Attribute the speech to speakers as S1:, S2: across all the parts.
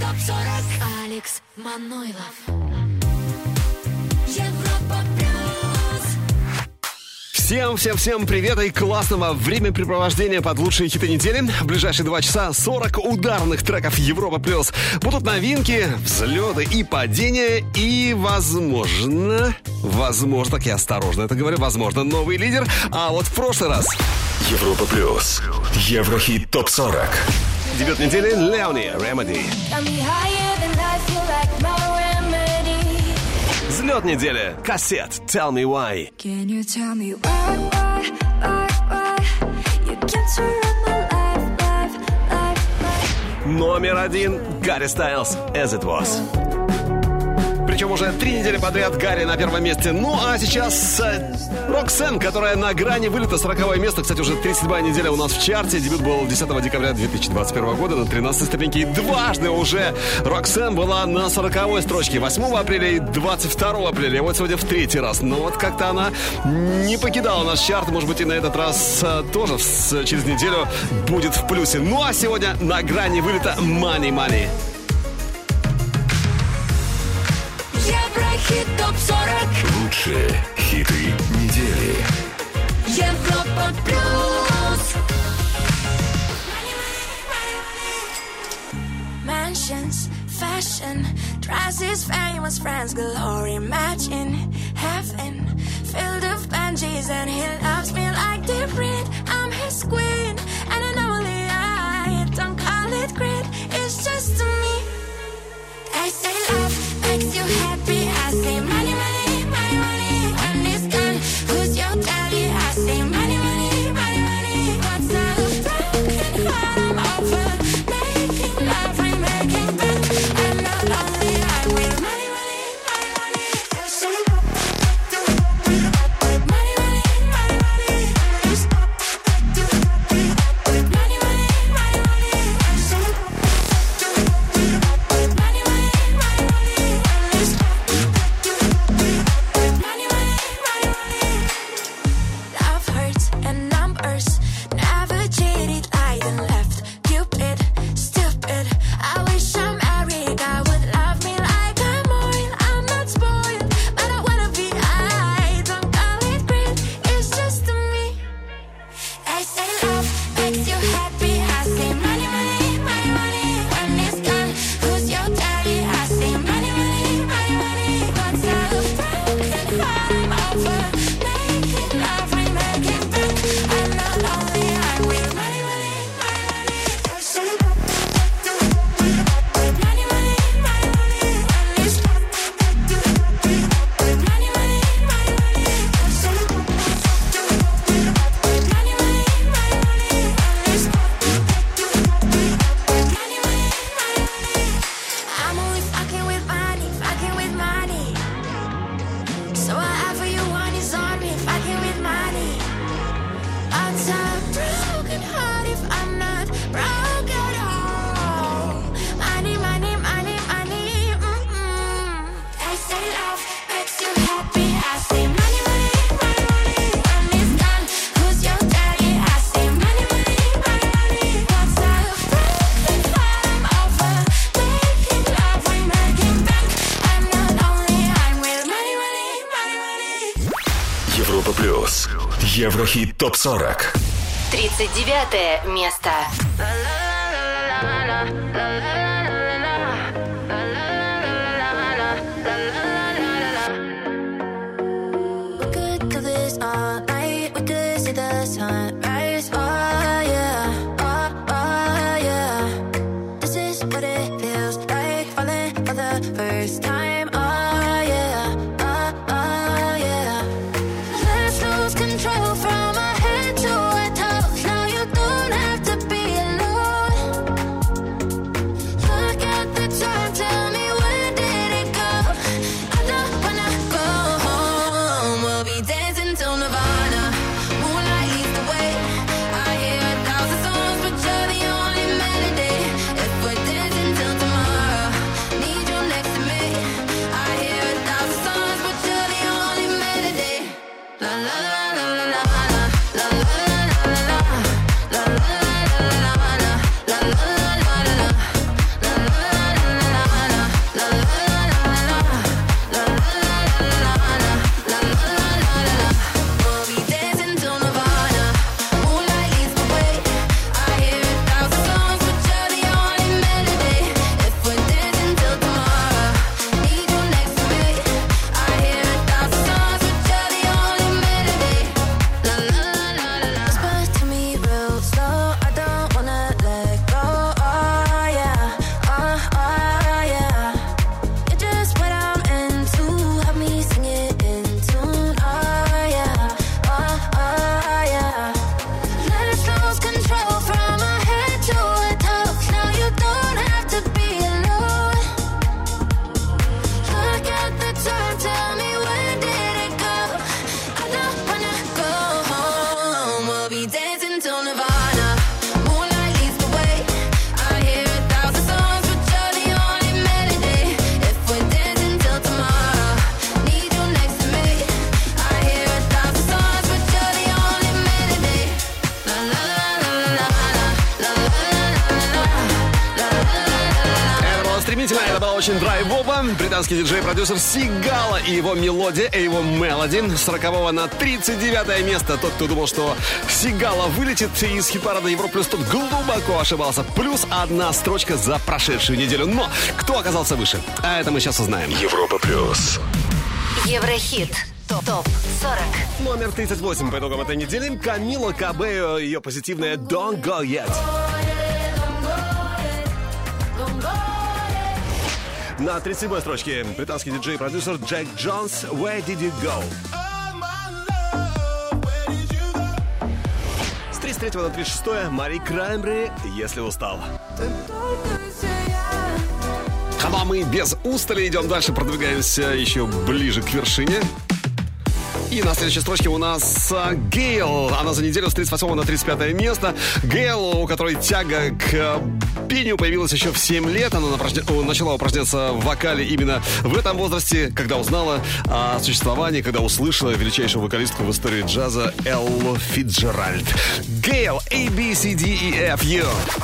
S1: Алекс Манойлов. Европа плюс.
S2: Всем привет и классного времяпрепровождения под лучшие хиты недели. В ближайшие 2 часа 40 ударных треков Европа плюс. Будут новинки, взлеты и падения. И возможно, так я осторожно это говорю, возможно, новый лидер. А вот в прошлый раз
S3: Европа плюс. Еврохит ТОП-40.
S2: Дебют недели Леони Remedy. Взлет недели Кассет Tell Me Why.
S1: Can you tell me why you can't surround my life?
S2: Номер 1 Гарри Стайлз As It Was. Причем уже 3 недели подряд Гарри на первом месте. Ну а сейчас Роксен, которая на грани вылета, 40-е место. Кстати, уже 37-я неделя у нас в чарте. Дебют был 10 декабря 2021 года на 13-й ступеньке. И дважды уже Роксен была на 40-й строчке. 8 апреля и 22 апреля. И вот сегодня в 3-й раз. Но вот как-то она не покидала наш чарт. Может быть, и на этот раз тоже через неделю будет в плюсе. Ну а сегодня на грани вылета Money Money.
S1: Еврохит ТОП-40.
S3: Лучшие хиты недели.
S1: Европа плюс. Mansions, fashion, dresses, famous friends, glory, imagine heaven filled of banshees, and he loves me like the wind. I'm his queen, and I know I don't call it greed. It's just to me. I say love makes you happy. I say money, money, money, money. When it's gone, who's your daddy? I say money, money, money, money. What's a broken heart? I'm over making love, remaking back. I'm not lonely. I will money, money, money, money. I say money, money, money, money. Just money, money, money, money. I say money, money, money. Love hurts and numbers never cheated, lied and left. Cupid, stupid. I wish I'm married. I would love me like I'm oil. I'm not spoiled, but I wanna be. I don't call it greed. It's just to me. I say love makes you happy. I say money, money, money, money. When it's gone, who's your daddy? I say money, money, money, money. What's a broken heart? I'm over making love, remaking back. I'm not lonely. I will money, money, money, money. I say money, money, money, money. When it's gone, money, money, money, money. I say money, money, money, money. When it's gone, money, money, money. I'm only fucking with money, fucking with money. So whatever you want is on me, fucking with money. What's a broken heart if I'm not broke at all? Money, money, money, money. I say love makes you happy. I say money, money, money, money. When it's gone, who's your daddy? I say money, money, money, money. What's a broken heart? I'm over making love, remaking back. I'm not lonely. I'm with money, money, money, money.
S3: Европа плюс. Еврохит ТОП-40.
S4: 39 место.
S1: We could do this all night. We could see the sunrise. Oh yeah, oh yeah. This is what it feels like, falling for the first time. Oh yeah, oh yeah. Let's lose control from our head to our toes. Now you don't have to be alone.
S2: Действительно, это было очень драйвово. Британский диджей-продюсер Сигала и его мелодия, его мелоди с 40 на 39 место. Тот, кто думал, что Сигала вылетит из хит-парада Европа Плюс, тот глубоко ошибался. Плюс одна строчка за прошедшую неделю. Но кто оказался выше? А это мы сейчас узнаем.
S3: Европа Плюс.
S4: Еврохит. ТОП-40.
S2: Номер 38 по итогам этой недели. Камила Кабео, ее позитивная «Don't Go Yet». На 37-й строчке британский диджей-продюсер Джек Джонс «Where Did You Go?». С 33 на 36 Мари Краймбрери «Если устал». А мы без устали идем дальше, продвигаемся еще ближе к вершине. И на следующей строчке у нас Гейл. Она за неделю с 38 на 35 место. Гейл, у которой тяга к пению появилась еще в 7 лет. Она начала упражняться в вокале именно в этом возрасте, когда узнала о существовании, когда услышала величайшую вокалистку в истории джаза Эллу Фицджеральд. Гейл, A, B, C, D, E, F, U.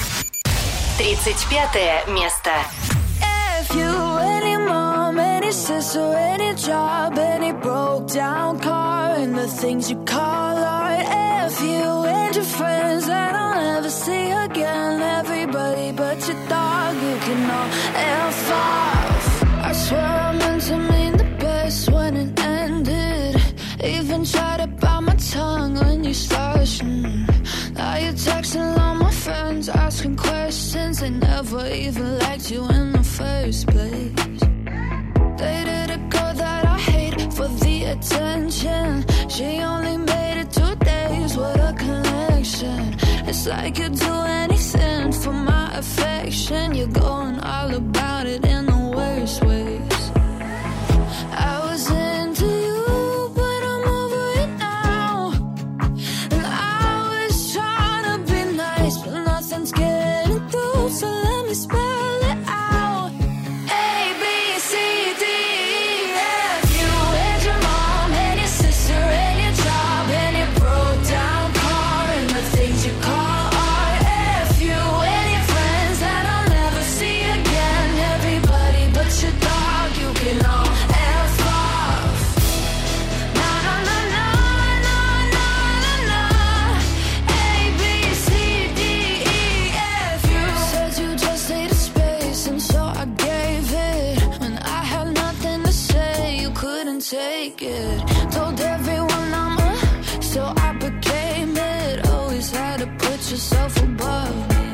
S4: 35 место.
S1: You, any mom, any sister, any job, any broke down car, and the things you call art. F you and your friends that I'll never see again. Everybody but your dog, you can all F off. I swear I meant to mean the best when it ended. Even tried to bite my tongue when you started. Now you're texting all my friends, asking questions. They never even liked you in the first place. Dated a girl that I hate for the attention. She only made it 2 days, what a connection. It's like you'd do anything for my affection. You're going all about it in the worst ways. I was into you, but I'm over it now. And I was trying to be nice, but nothing's getting through. So let me spell it out. A, B, C, D, E, F. You and your mom and your sister and your job and your broke down car and the things you call art. F you and your friends that I'll never see again. Everybody but your dog, you can all F off. Na na na na na na na na. A, B, C, D, E, F. You said you just needed space, and so I gave it. When I had nothing to say, you couldn't take it. Told everyone I'm so I became it. Always had to put yourself above me.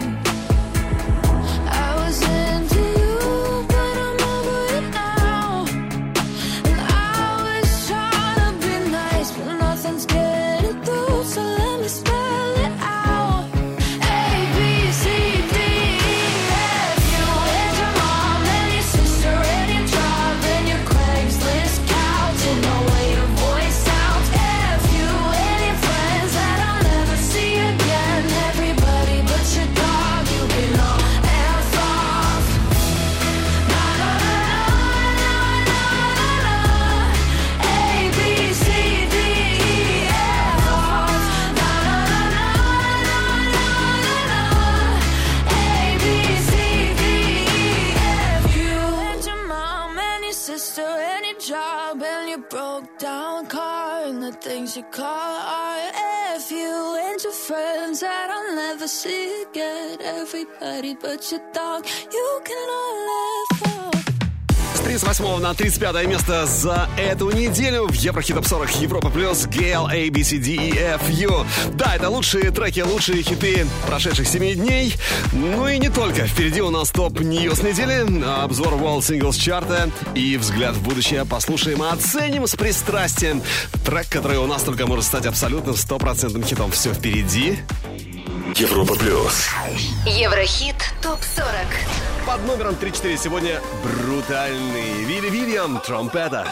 S1: I was into you, but I'm over it now. And I was trying to be nice, but nothing's getting through. So let me spell it out. A, B, C, D, E, F. You and your mom and your sister and your job and your Craigslist couch and the way your voice sounds. F you and your friends that I'll never see again. Everybody but your dog, you can all F off. Na na na na na na na. A, B, C, D, E, F off. Na na na na na na na na. A, B, C, D, E, F. You and your mom and your sister and your job and your broke down car and the things you call art. F you and your friends that I'll never see again. Everybody but your dog, you can all F off.
S2: С 38 на 35 место за эту неделю в Еврохит Топ 40 Европа Плюс Гейл, A, B, C, D, E, F, U. Да, это лучшие треки, лучшие хиты прошедших 7 дней. Ну и не только. Впереди у нас топ-ньюс недели, обзор World Singles чарта и взгляд в будущее. Послушаем и оценим с пристрастием трек, который у нас только может стать абсолютно 100% хитом. Все впереди.
S3: Европа Плюс.
S4: Еврохит ТОП-40.
S2: Под номером 34 сегодня брутальный Вилли Вильям, тромпета.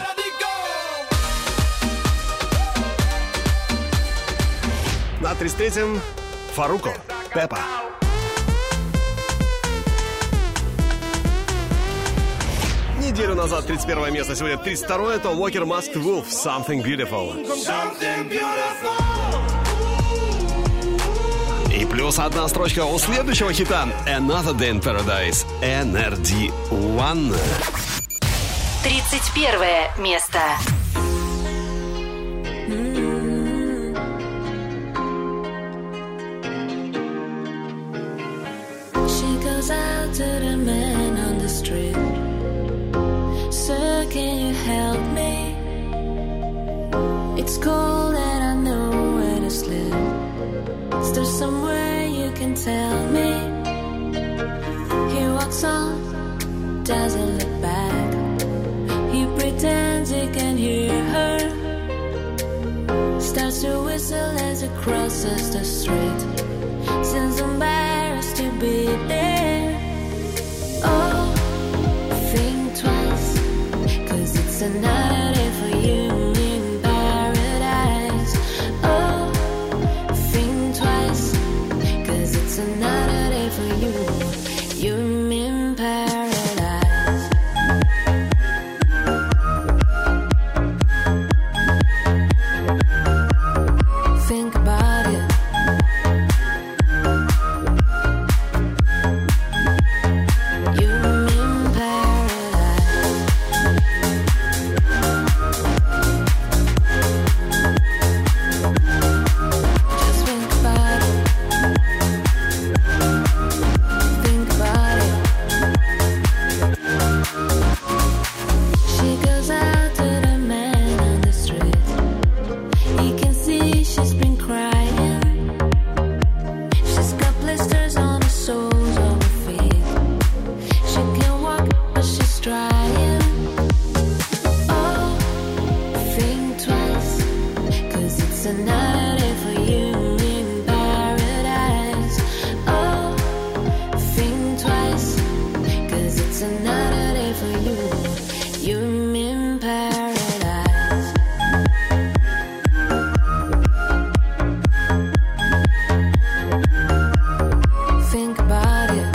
S2: На 33-м Фаруко, Пеппа. Неделю назад 31 место, сегодня 32-е, это Walker Masked Wolf, Something Beautiful. И Плюс одна строчка у следующего хита Another Day in Paradise, NRD1.
S4: 31 место.
S1: She goes out to the man on the street. Sir, can you help me? It's cold and I know where to sleep. Is there somewhere you can tell me? He walks on, doesn't look back. He pretends he can hear her. Starts to whistle as he crosses the street. Seems embarrassed to be there. Oh, think twice, 'cause it's another day for you in paradise. Oh, think twice, 'cause it's another day for you. You in paradise. Think about it. You in paradise. Just think about it. Think about it. She goes out to the man on the street. He can see she's been crying. She's got blisters on the soles of her feet. She can walk, but she's trying. Oh, think twice, 'cause it's another day for you in paradise. Oh, think twice, 'cause it's another day for you. You in paradise. Think about it.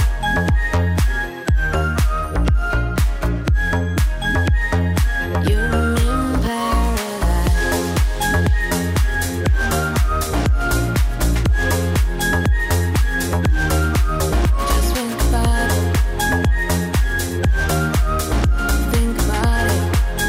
S1: You in paradise. Just think about it. Think about it.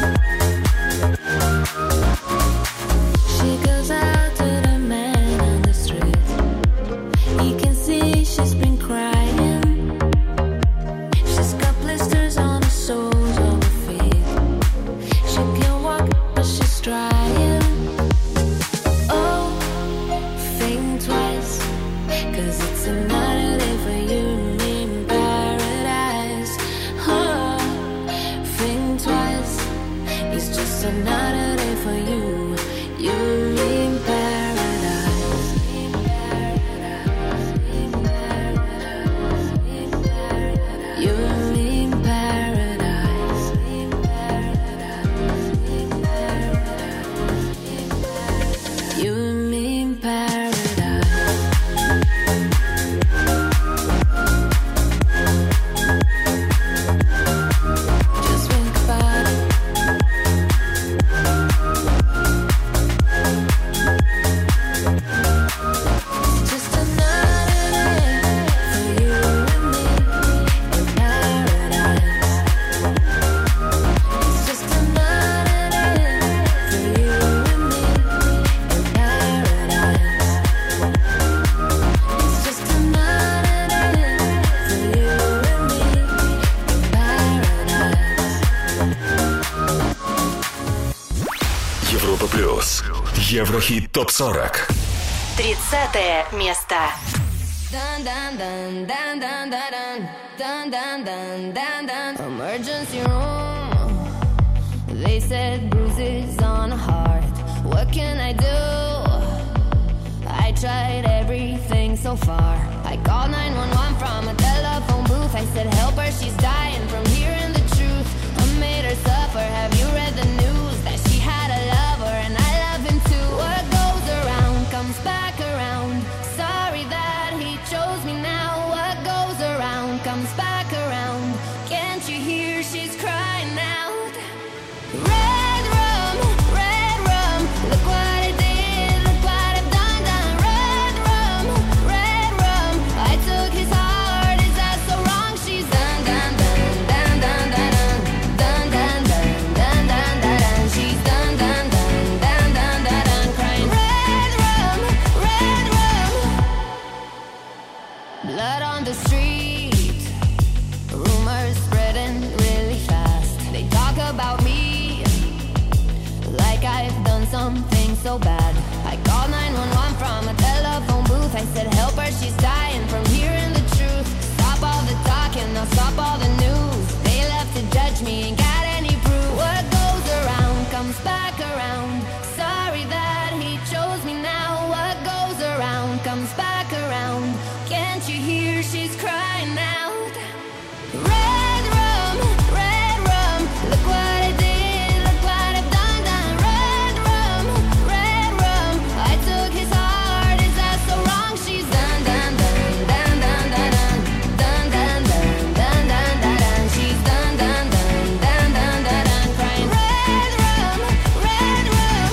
S1: She goes out to the man on the street. He can see she's been crying. She's got blisters on the soles of her feet. She can walk, but she's trying. Oh, think twice, 'cause it's another day for you in paradise. Oh, think twice, it's just another day for you. You in paradise. In paradise. In paradise. In paradise. You in paradise. In paradise. In paradise. You in paradise. Just think about it. It's just another day for you and me in paradise. It's just another day for you and me in paradise. It's just another day for you and me in paradise.
S3: Европа плюс. Еврохит ТОП-40.
S4: 30 место.
S5: Dun dun dun dun dun dun dun dun dun dun dun. Emergency room. They said bruises on a heart. What can I do? I tried everything so far. I called 911 from a telephone booth. I said, help her, she's dying from hearing the truth. I made her suffer. Have you read the news that she had a lover and I love him too? What goes around comes back around. Sorry that he chose me now. What goes around comes back around. Can't you hear she's crying out? Red rum, look what it did, look what it done, done. Red rum, street. Rumors spreading really fast. They talk about me like I've done something so bad. I called 911 from a telephone booth. I said, help her, she's dying from hearing the truth. Stop all the talking, now stop all the news. They left to judge me, ain't got any proof. What goes around comes back around. Sorry that he chose me now. What goes around comes back around. Can't you hear she's crying out? Red rum, look what I did, look what I've done, done. Red rum, I took his heart, is that so wrong? She's done, done, done, done, done, done, done, done, done, done, done, done, done. She's done, done, done, done, done, done, done, crying. Red rum, red rum.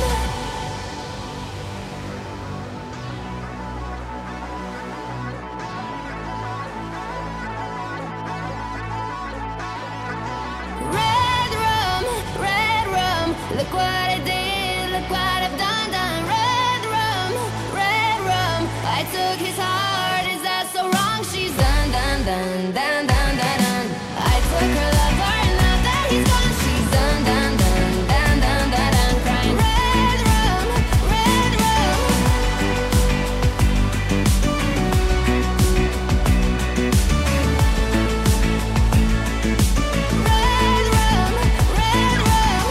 S5: Red rum, look what I did, look what I've done, done. Red rum, I took his heart, is that so wrong? She's done, done, done, done, done, done, done. I took her lover and now that he's gone, she's done, done, done, done, done, done, done, crying. Red rum, red rum. Red rum, red rum.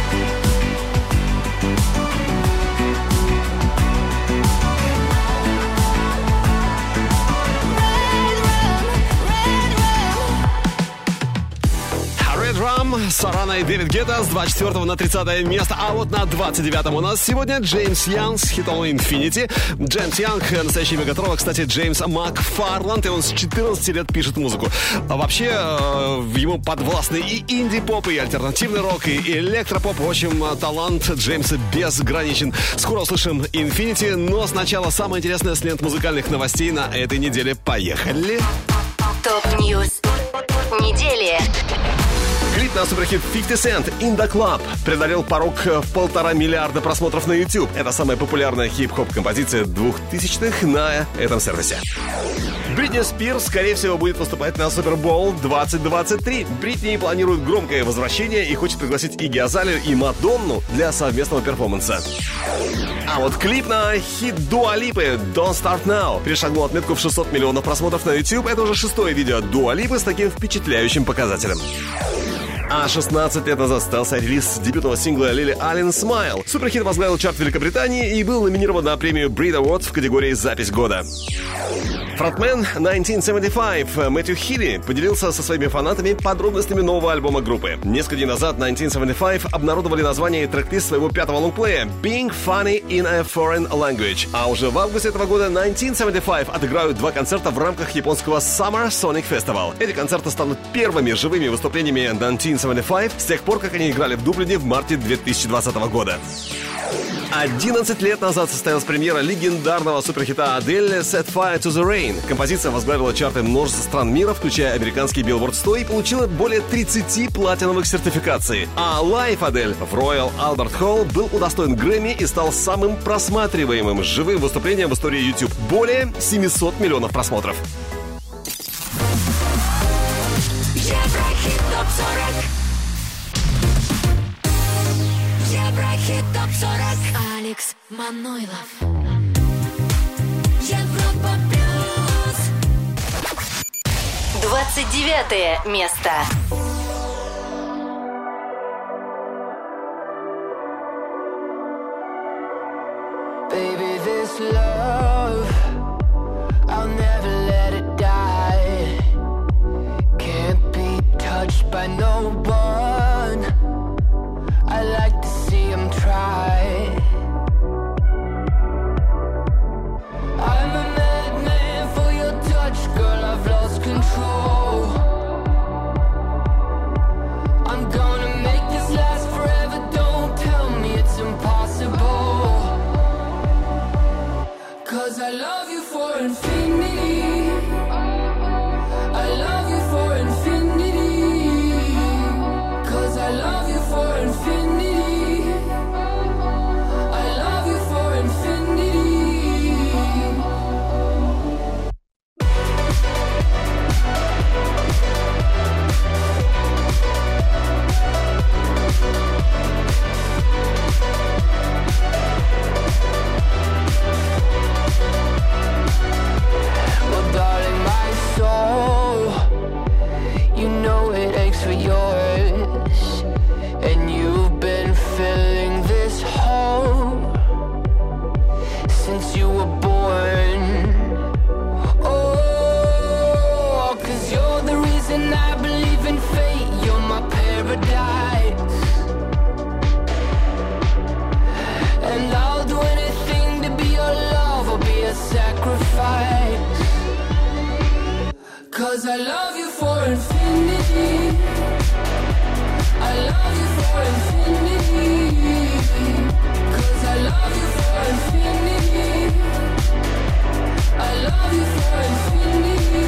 S2: Red Rum, Сарана и Дэвид Гетта с 24 на 30 место. А вот на 29-м у нас сегодня Джеймс Янг с хитом Infinity. Джеймс Янг, настоящий мегатрова, кстати, Джеймс Макфарланд, и он с 14 лет пишет музыку. А вообще, ему подвластны и инди-поп, и альтернативный рок, и электропоп. В общем, талант Джеймса безграничен. Скоро услышим Infinity, но сначала самое интересное с лент музыкальных новостей на этой неделе. Поехали!
S4: ТОП-ньюс недели.
S2: Клип на суперхит 50 Cent «In the Club» преодолел порог в 1,5 миллиарда просмотров на YouTube. Это самая популярная хип-хоп композиция 2000-х на этом сервисе. Бритни Спирс, скорее всего, будет выступать на Супербоул 2023. Бритни планирует громкое возвращение и хочет пригласить Игги Азалию и Мадонну для совместного перформанса. А вот клип на хит Дуа Липы «Don't Start Now» перешагнул отметку в 600 миллионов просмотров на YouTube. Это уже 6-е видео Дуа Липы с таким впечатляющим показателем. А 16 лет назад состоялся релиз дебютного сингла Лили Аллен «Smile». Суперхит возглавил чарт Великобритании и был номинирован на премию Brit Awards в категории «Запись года». Фронтмен 1975 Мэтью Хилли поделился со своими фанатами подробностями нового альбома группы. Несколько дней назад 1975 обнародовали название и трек-лист своего 5-го лонгплея «Being Funny in a Foreign Language». А уже в августе этого года 1975 отыграют 2 концерта в рамках японского Summer Sonic Festival. Эти концерты станут первыми живыми выступлениями 1975 с тех пор, как они играли в Дублине в марте 2020 года. 11 лет назад состоялась премьера легендарного суперхита Адель «Set Fire to the Rain». Композиция возглавила чарты множества стран мира, включая американский Billboard 100, и получила более 30 платиновых сертификаций. А лайв Адель в Royal Albert Hall был удостоен Грэмми и стал самым просматриваемым живым выступлением в истории YouTube. Более 700 миллионов просмотров.
S1: Еврохит ТОП-40. Еврохит ТОП-40. Алекс Манойлов. Европа плюс.
S4: 29 место.
S6: Baby, this love, I'll never let it die. Can't be touched by no one. I like to see him try. I'm a madman for your touch, girl, I've lost control. I'm gonna make this last forever, don't tell me it's impossible. 'Cause I love you for infinity. I love you for infinity. 'Cause I love you for infinity. I love you for infinity. 'Cause I love you for infinity. I love you for infinity.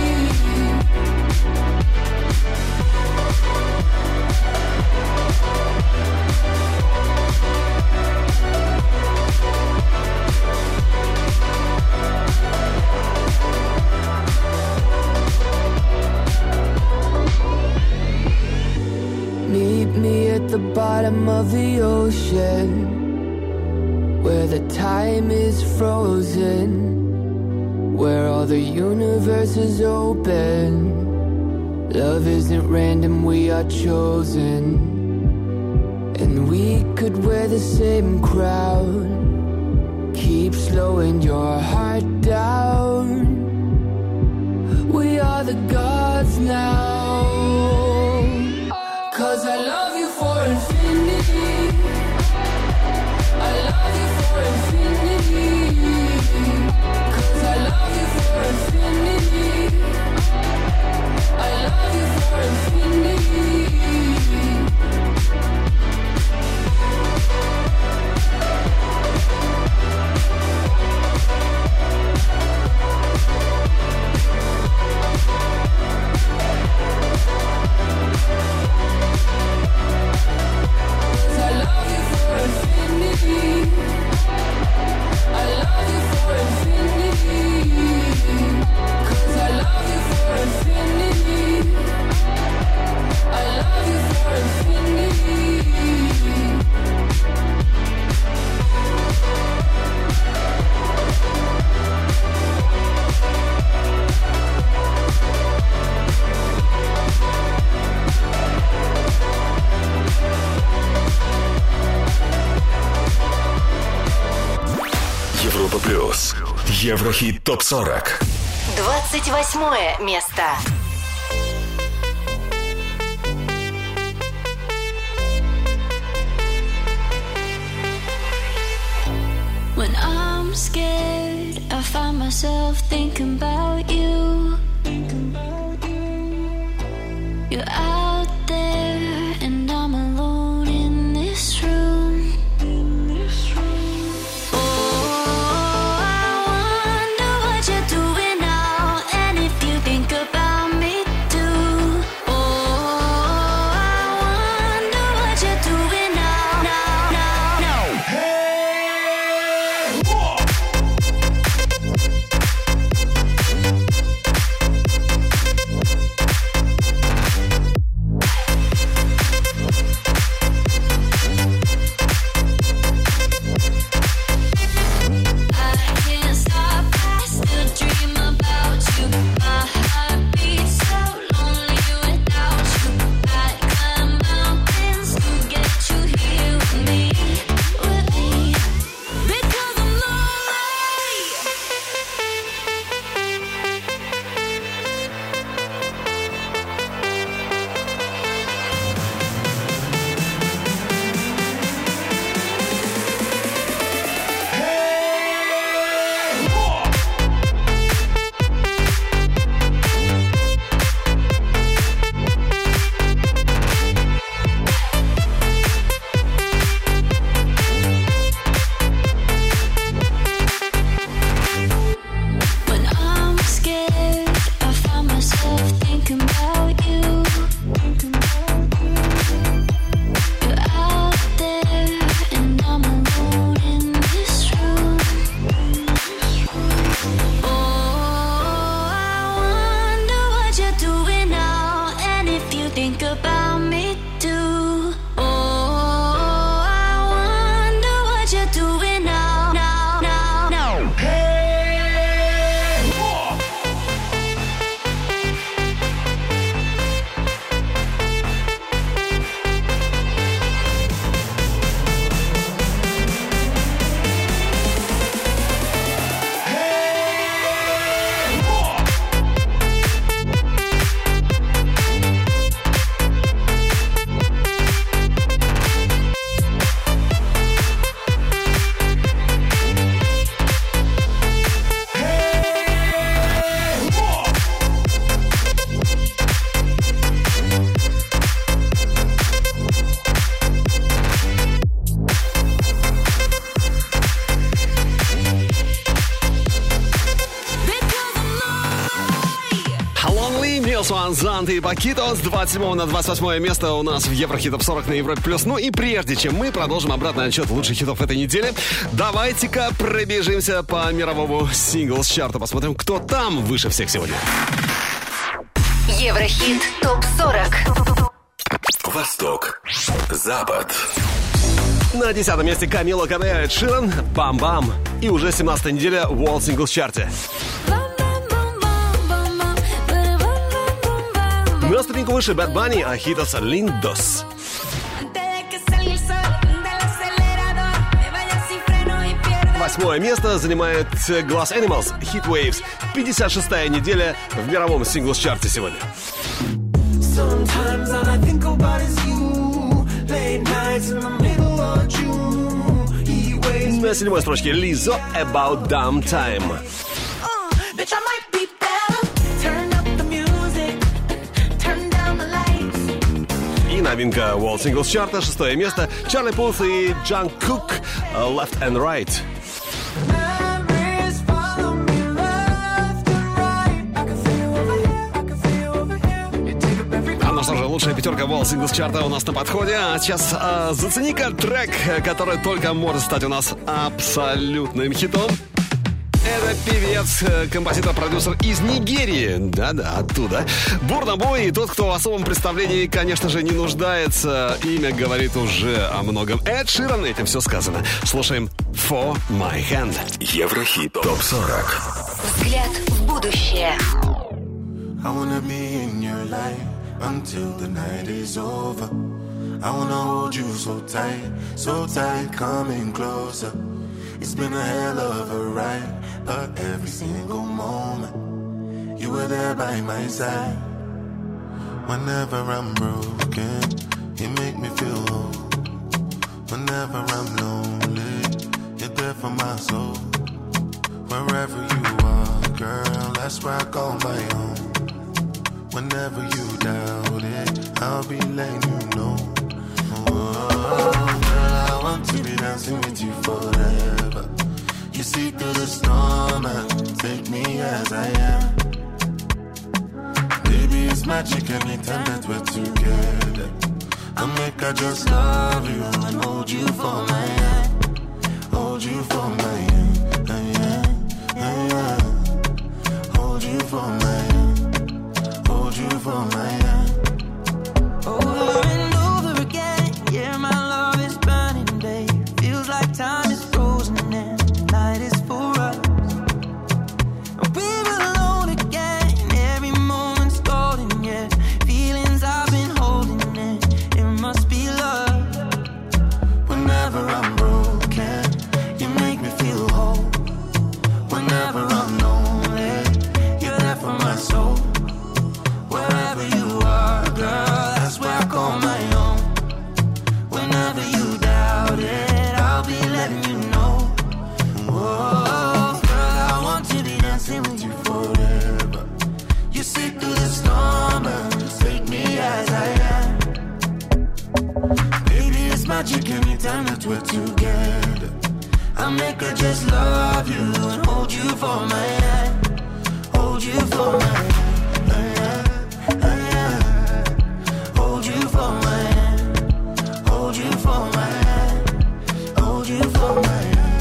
S6: Meet me at the bottom of the ocean, where the time is frozen, where all the universe is open. Love isn't random, we are chosen. And we could wear the same crown. Keep slowing your heart down. We are the gods now. 'Cause I love you for infinity. I love you for infinity. 'Cause I love you for infinity. I love you for infinity.
S3: Европа плюс. Еврохит ТОП-40.
S4: 28 место.
S1: When I'm scared, I find myself thinking about you. You're out there and I'm alone in this room. Oh, I wonder what you're doing now, and if you think about me too. Oh, I wonder what you're doing now, now. Hey!
S2: Бонни, Милсуан, Зант и Пакито с 27 на 28 место у нас в Еврохит Топ 40 на Европе Плюс. Ну и прежде чем мы продолжим обратный отчет лучших хитов этой недели, давайте-ка пробежимся по мировому синглс-чарту, посмотрим, кто там выше всех сегодня.
S4: Еврохит Топ 40.
S3: Восток, Запад.
S2: На 10 месте Камила Кабео, Эд Ширан, «Бам-бам». И уже 17-я неделя в World Singles Chart. На ступеньку выше Bad Bunny, Agitos Lindos. 8-е место занимает Glass Animals, Heat Waves. 56-я неделя в мировом синглс-чарте сегодня. На 7-й строчке Lizzo, About Damn Time. И новинка World Singles Chart, 6-е место, Чарли Пулс и Джангкук, Left and Right. Ну что же, лучшая пятерка World Singles Chart у нас на подходе. А сейчас зацени-ка трек, который только может стать у нас абсолютным хитом. Это певец, композитор, продюсер из Нигерии. Да-да, оттуда. Бурна Бой, и тот, кто в особом представлении, конечно же, не нуждается. Имя говорит уже о многом. Эд Ширан, этим все сказано. Слушаем For My Hand.
S3: Еврохит Топ 40.
S4: Взгляд в будущее.
S7: Until the night is over, I wanna hold you so tight, coming closer. It's been a hell of a ride, but every single moment you were there by my side. Whenever I'm broken, you make me feel whole. Whenever I'm lonely, you're there for my soul. Wherever you are, girl, that's where I call my home. Whenever you doubt it, I'll be letting you know. Oh, girl, I want to be dancing with you forever. You see through the storm and take me as I am. Baby, it's magic anytime that we're together. I make I just love you and hold you for my hand. Hold you for my hand, hold you for my hand. Hold you for my hand.
S8: Over and over again, yeah, my love is burning, babe. Feels like time is frozen and the night is for us. We're alone again, every moment's golden, yeah. Feelings I've been holding in, it must be love.
S7: Whenever I'm broken, you make me feel whole. Whenever I'm lonely, you're there for my soul. Wherever you are, girl, that's where I call my own. Whenever you doubt it, I'll be letting you know. Oh, girl, I want to be dancing with you forever. You see through the storm and take me as I am. Baby, it's magic anytime that we're together. I make her just love you and hold you for my hand. Hold you for my hand. Hold you for my hand. Hold you for my hand. Hold you for my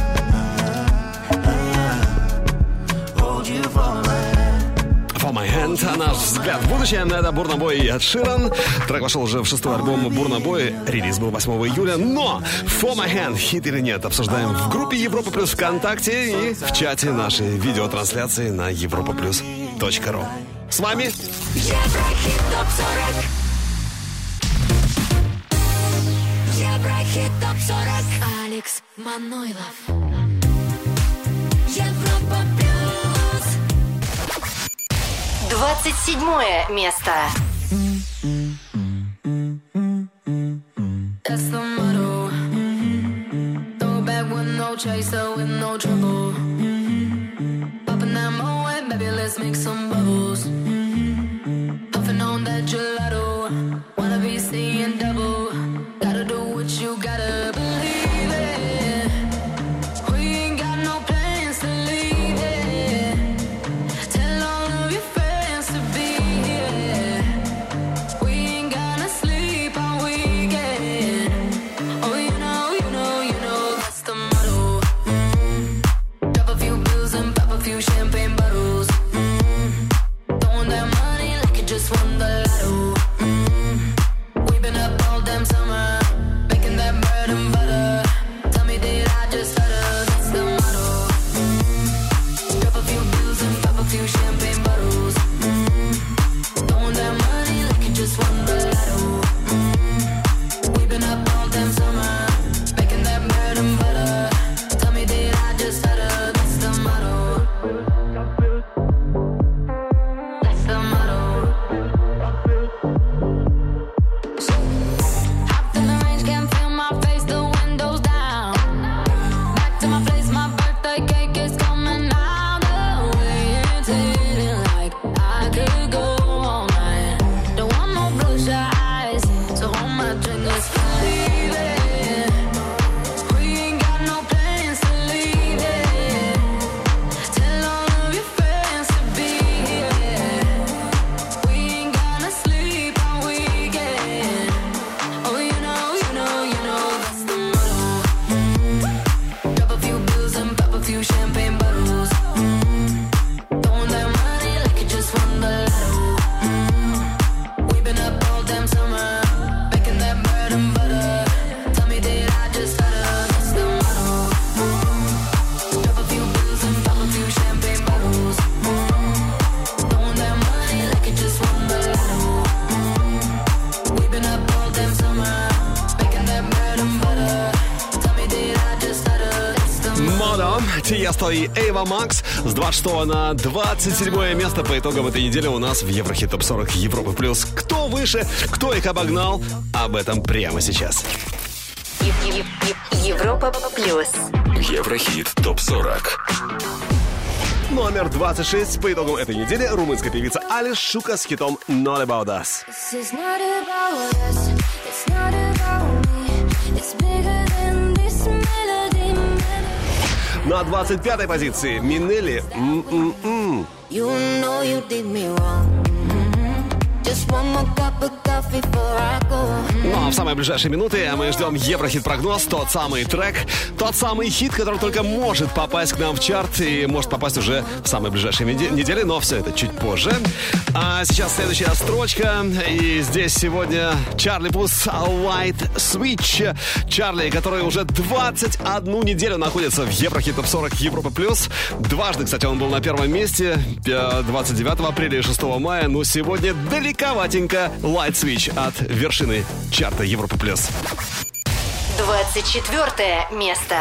S7: hand. Hold you for my hand.
S2: For My Hand, наш взгляд в будущее. Это Бурна Бой и Эд Ширан. Трек вошел уже в 6-й альбом Бурна Бой. Релиз был 8 июля. Но For My Hand, хит или нет, обсуждаем в группе Европа Плюс ВКонтакте и в чате нашей видеотрансляции на europaplus.ru. С вами
S1: Еврохит Топ 40. Еврохит Топ 40. Алекс Манойлов. Европа Плюс.
S4: 27 место.
S5: That's the motto. Throw back with no chaser, with no trouble. Popping that moe, baby, let's make some bubbles. Puffing on that gelato. Wanna be seeing double. Gotta do what you gotta believe it. We ain't got no plans to leave it. Tell all of your friends to be here. just won the lotto. We've been up all damn summer, making that bread and butter. Tell me, did I just stutter? That's the motto. Drop a few bills and pop a few champagne bottles. Throwing that money like you just won the lotto. We've been up all damn summer, making that bread and butter. Tell me, did I just stutter? That's the motto. That's the motto. Hopped in the range, can't feel my face, the windows down. Back to my place, my birthday cake is coming out. The way it's hitting like I could go all night. Don't want no bloodshot eyes, so hold my drink, let's leave it. We ain't got no plans to leave it. Tell all of your friends to be here. We ain't gonna sleep all weekend. Oh, you know, that's the motto. Drop a few bills and pop a few champagne bottles. Throwing that money like you just won the lotto. We've been up all damn summer, making that bread and butter. Tell me, did I just stutter? That's the motto. Drop a few bills and pop a few champagne bottles. Throwing that money like you just won the lotto. We've been up all damn summer, making that bread and butter. Tell me, did I just stutter? That's the motto.
S2: Модо, Тиесто и Эйва Макс с 26 на 27 место по итогам этой недели у нас в Еврохит Топ 40 Европы плюс. Кто выше, кто их обогнал, об этом прямо сейчас.
S4: Европа плюс.
S3: Еврохит Топ 40.
S2: Номер 26 по итогам этой недели румынская певица Алиш Шука с хитом Not About Us.
S1: This is not about us, it's not about me. It's bigger than this melody.
S2: На 25-й позиции Минелли «М-м-м».
S5: You know you did me wrong. Just one more cup of coffee before I go.
S2: Ну а в самые ближайшие минуты мы ждем Еврохит-прогноз, тот самый трек, тот самый хит, который только может попасть к нам в чарт и может попасть уже в самые ближайшие недели, но все это чуть позже. А сейчас следующая строчка, и здесь сегодня Чарли Пус White Switch. Чарли, который уже 21 неделю находится в Еврохит Топ 40 Европа плюс. Дважды, кстати, он был на первом месте, 29 апреля и 6 мая, но сегодня далековатенько Light Switch от вершины чарта Европа плюс.
S4: 24 место.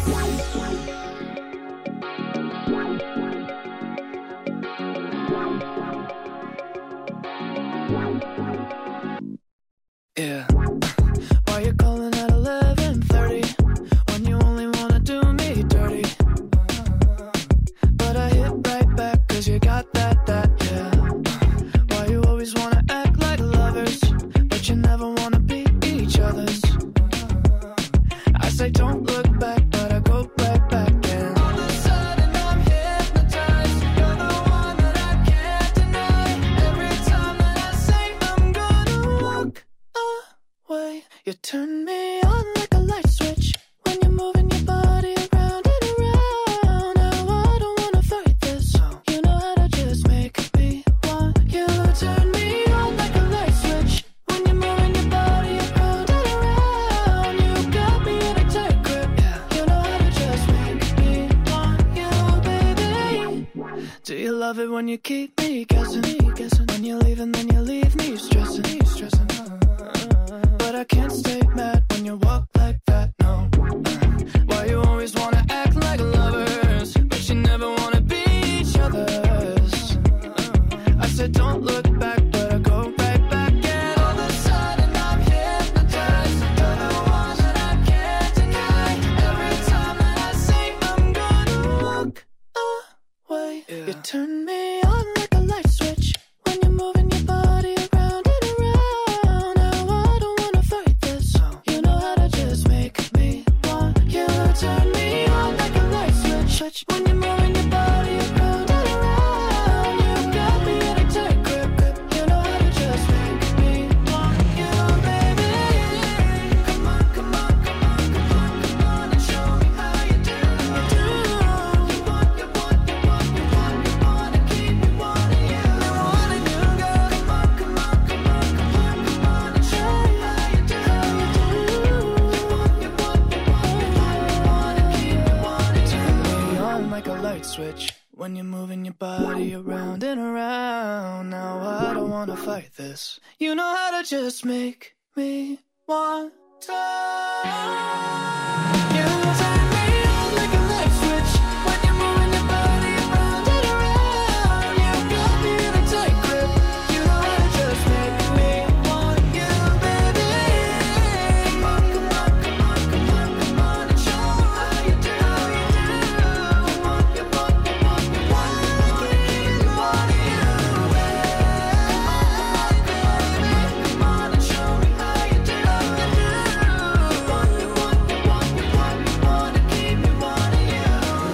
S8: Yeah. Why you calling at 11:30 when you only wanna do me dirty? But I hit right back 'cause you got that, yeah. Why you always wanna act like lovers, but you never wanna be each other's? I say don't look back, but I go right back, and all of a sudden I'm hypnotized. You're the one that I can't deny. Every time that I say I'm gonna walk away, you turn me on like a light switch when you're moving your body around and around. Now I don't wanna fight this, you know how to just make me want you. Turn me on like a light switch when you're moving your body around and around. You got me in a tight grip, you know how to just make me want you, baby. Do you love it when you keep me guessing? When you're leaving, then you leave me stressing. But I can't stay mad when you walk like that, no. Why you always wanna act like lovers, but you never wanna be each other's? I said don't look back, but I go right back, and all of a sudden I'm hypnotized. You're the one that I can't deny. Every time that I say I'm gonna walk away, you turn me on like a light switch when you're moving your body around and around. Now I don't wanna fight this, you know how to just wanna fight this. You know how to just make me want to. You turn me on like a light switch when you're moving your body around and around. You got me in a tight grip. You know how to just make me want you, baby. Come on, come on, come on, come on, come on, and show me how you do, how you do. You want, you want, you want, you want, I wanna keep you wanting you. Come on and show me how you do, how you do. You want, you want, you want, you want, you wanna keep you wanting you.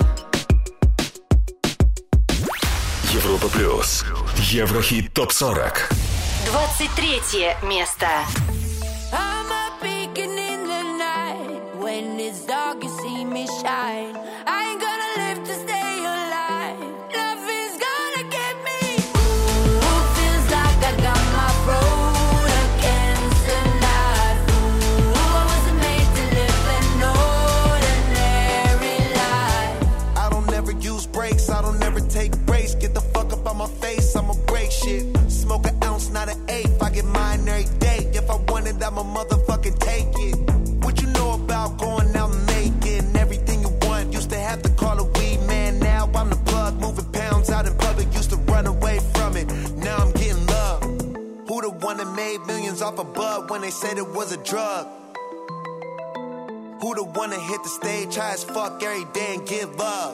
S3: Европа плюс. Еврохит топ-40.
S4: 23 место.
S1: I'm a beacon in the night. When it's dark, you see me shine. I ain't gonna live to stay alive. Love is gonna get me. Ooh, feels like I got my road against the night. Ooh, I wasn't made to live an ordinary life.
S9: I don't ever use brakes, I don't ever take breaks. Get the fuck up on my face, I'ma break shit. Smoke an ounce, not an eighth. I get mine every day. If I want it, I'ma motherfucking take it. What you know about going out and making everything you want? Used to have to call a weed man, now I'm the plug. Moving pounds out in public, used to run away from it. Now I'm getting love. Who the one that made millions off a bud when they said it was a drug? Who the one that hit the stage high as fuck every day and give love?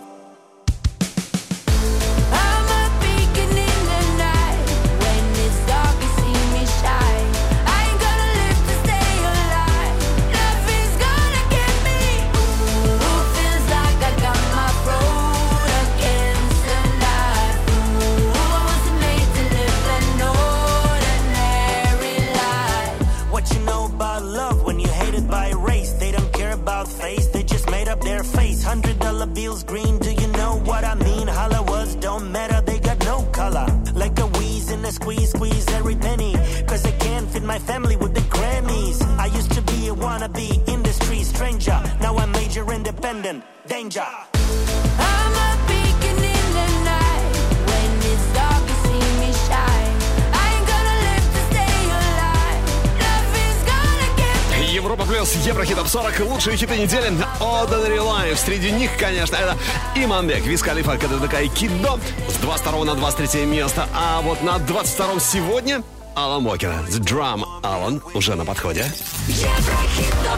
S1: I'm a beacon in the night. When it's dark, you see me shine. I ain't gonna live to stay alive. Love is gonna get me. Ooh, feels like I got my road against the night. Ooh, I wasn't made to live an ordinary life.
S10: What you know about love when you're hated by race? They don't care about face, they just made up their face. $100 bills green, do you know what I mean? Holla words don't matter, they got no color. Like a wheeze in a squeeze, squeeze every penny. Cause they can't fit my family with the Grammys. I used to be a wannabe industry stranger. Now I'm major independent, danger.
S1: I'm a beacon in the night. When it's dark, you see me shine. I ain't gonna live to stay alive. Love is gonna get me.
S2: Европа плюс, Еврохит топ 40, лучшие хиты недели. Ordinary Life. Среди них, конечно, это Иманбек, Виз Халифа, когда такая Кидо с 22 на 23 место. А вот на 22 сегодня Алан Уокер, The Drum. Алан уже на подходе.
S1: Еврохит топ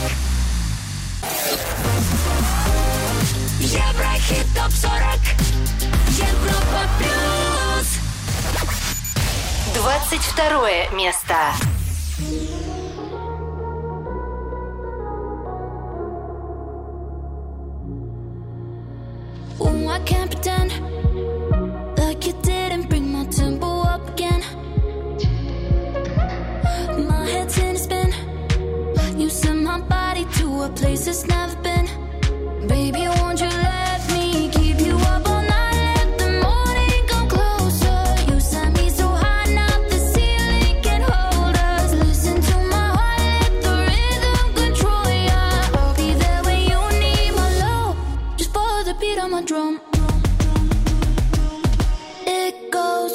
S1: 40. Еврохит топ 40. Европа плюс.
S4: 22 место.
S1: Ooh, I can't pretend like you didn't bring my tempo up again. My head's in a spin. You sent my body to a place it's never been. Baby, won't you let me keep you up all night? Let the morning come closer. You sent me so high, now the ceiling can hold us. Listen to my heart, let the rhythm control ya. I'll be there when you need my love. Just follow the beat on my drum. It goes.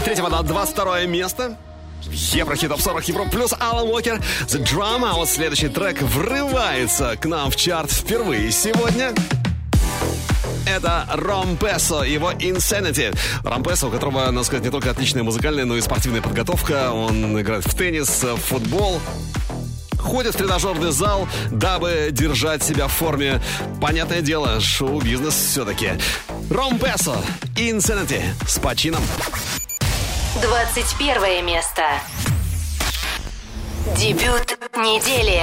S2: 3 на 22 место. Еврохит Топ 40 Европа плюс Алан Уокер The Drama. А вот следующий трек врывается к нам в чарт впервые сегодня. Это Ромпесо, его Insanity. Ромпесо, у которого, надо сказать, не только отличная музыкальная, но и спортивная подготовка. Он играет в теннис, в футбол, ходит в тренажерный зал, дабы держать себя в форме. Понятное дело, шоу-бизнес все-таки. Ромпесо, Insanity с почином.
S4: 21 место. Дебют недели.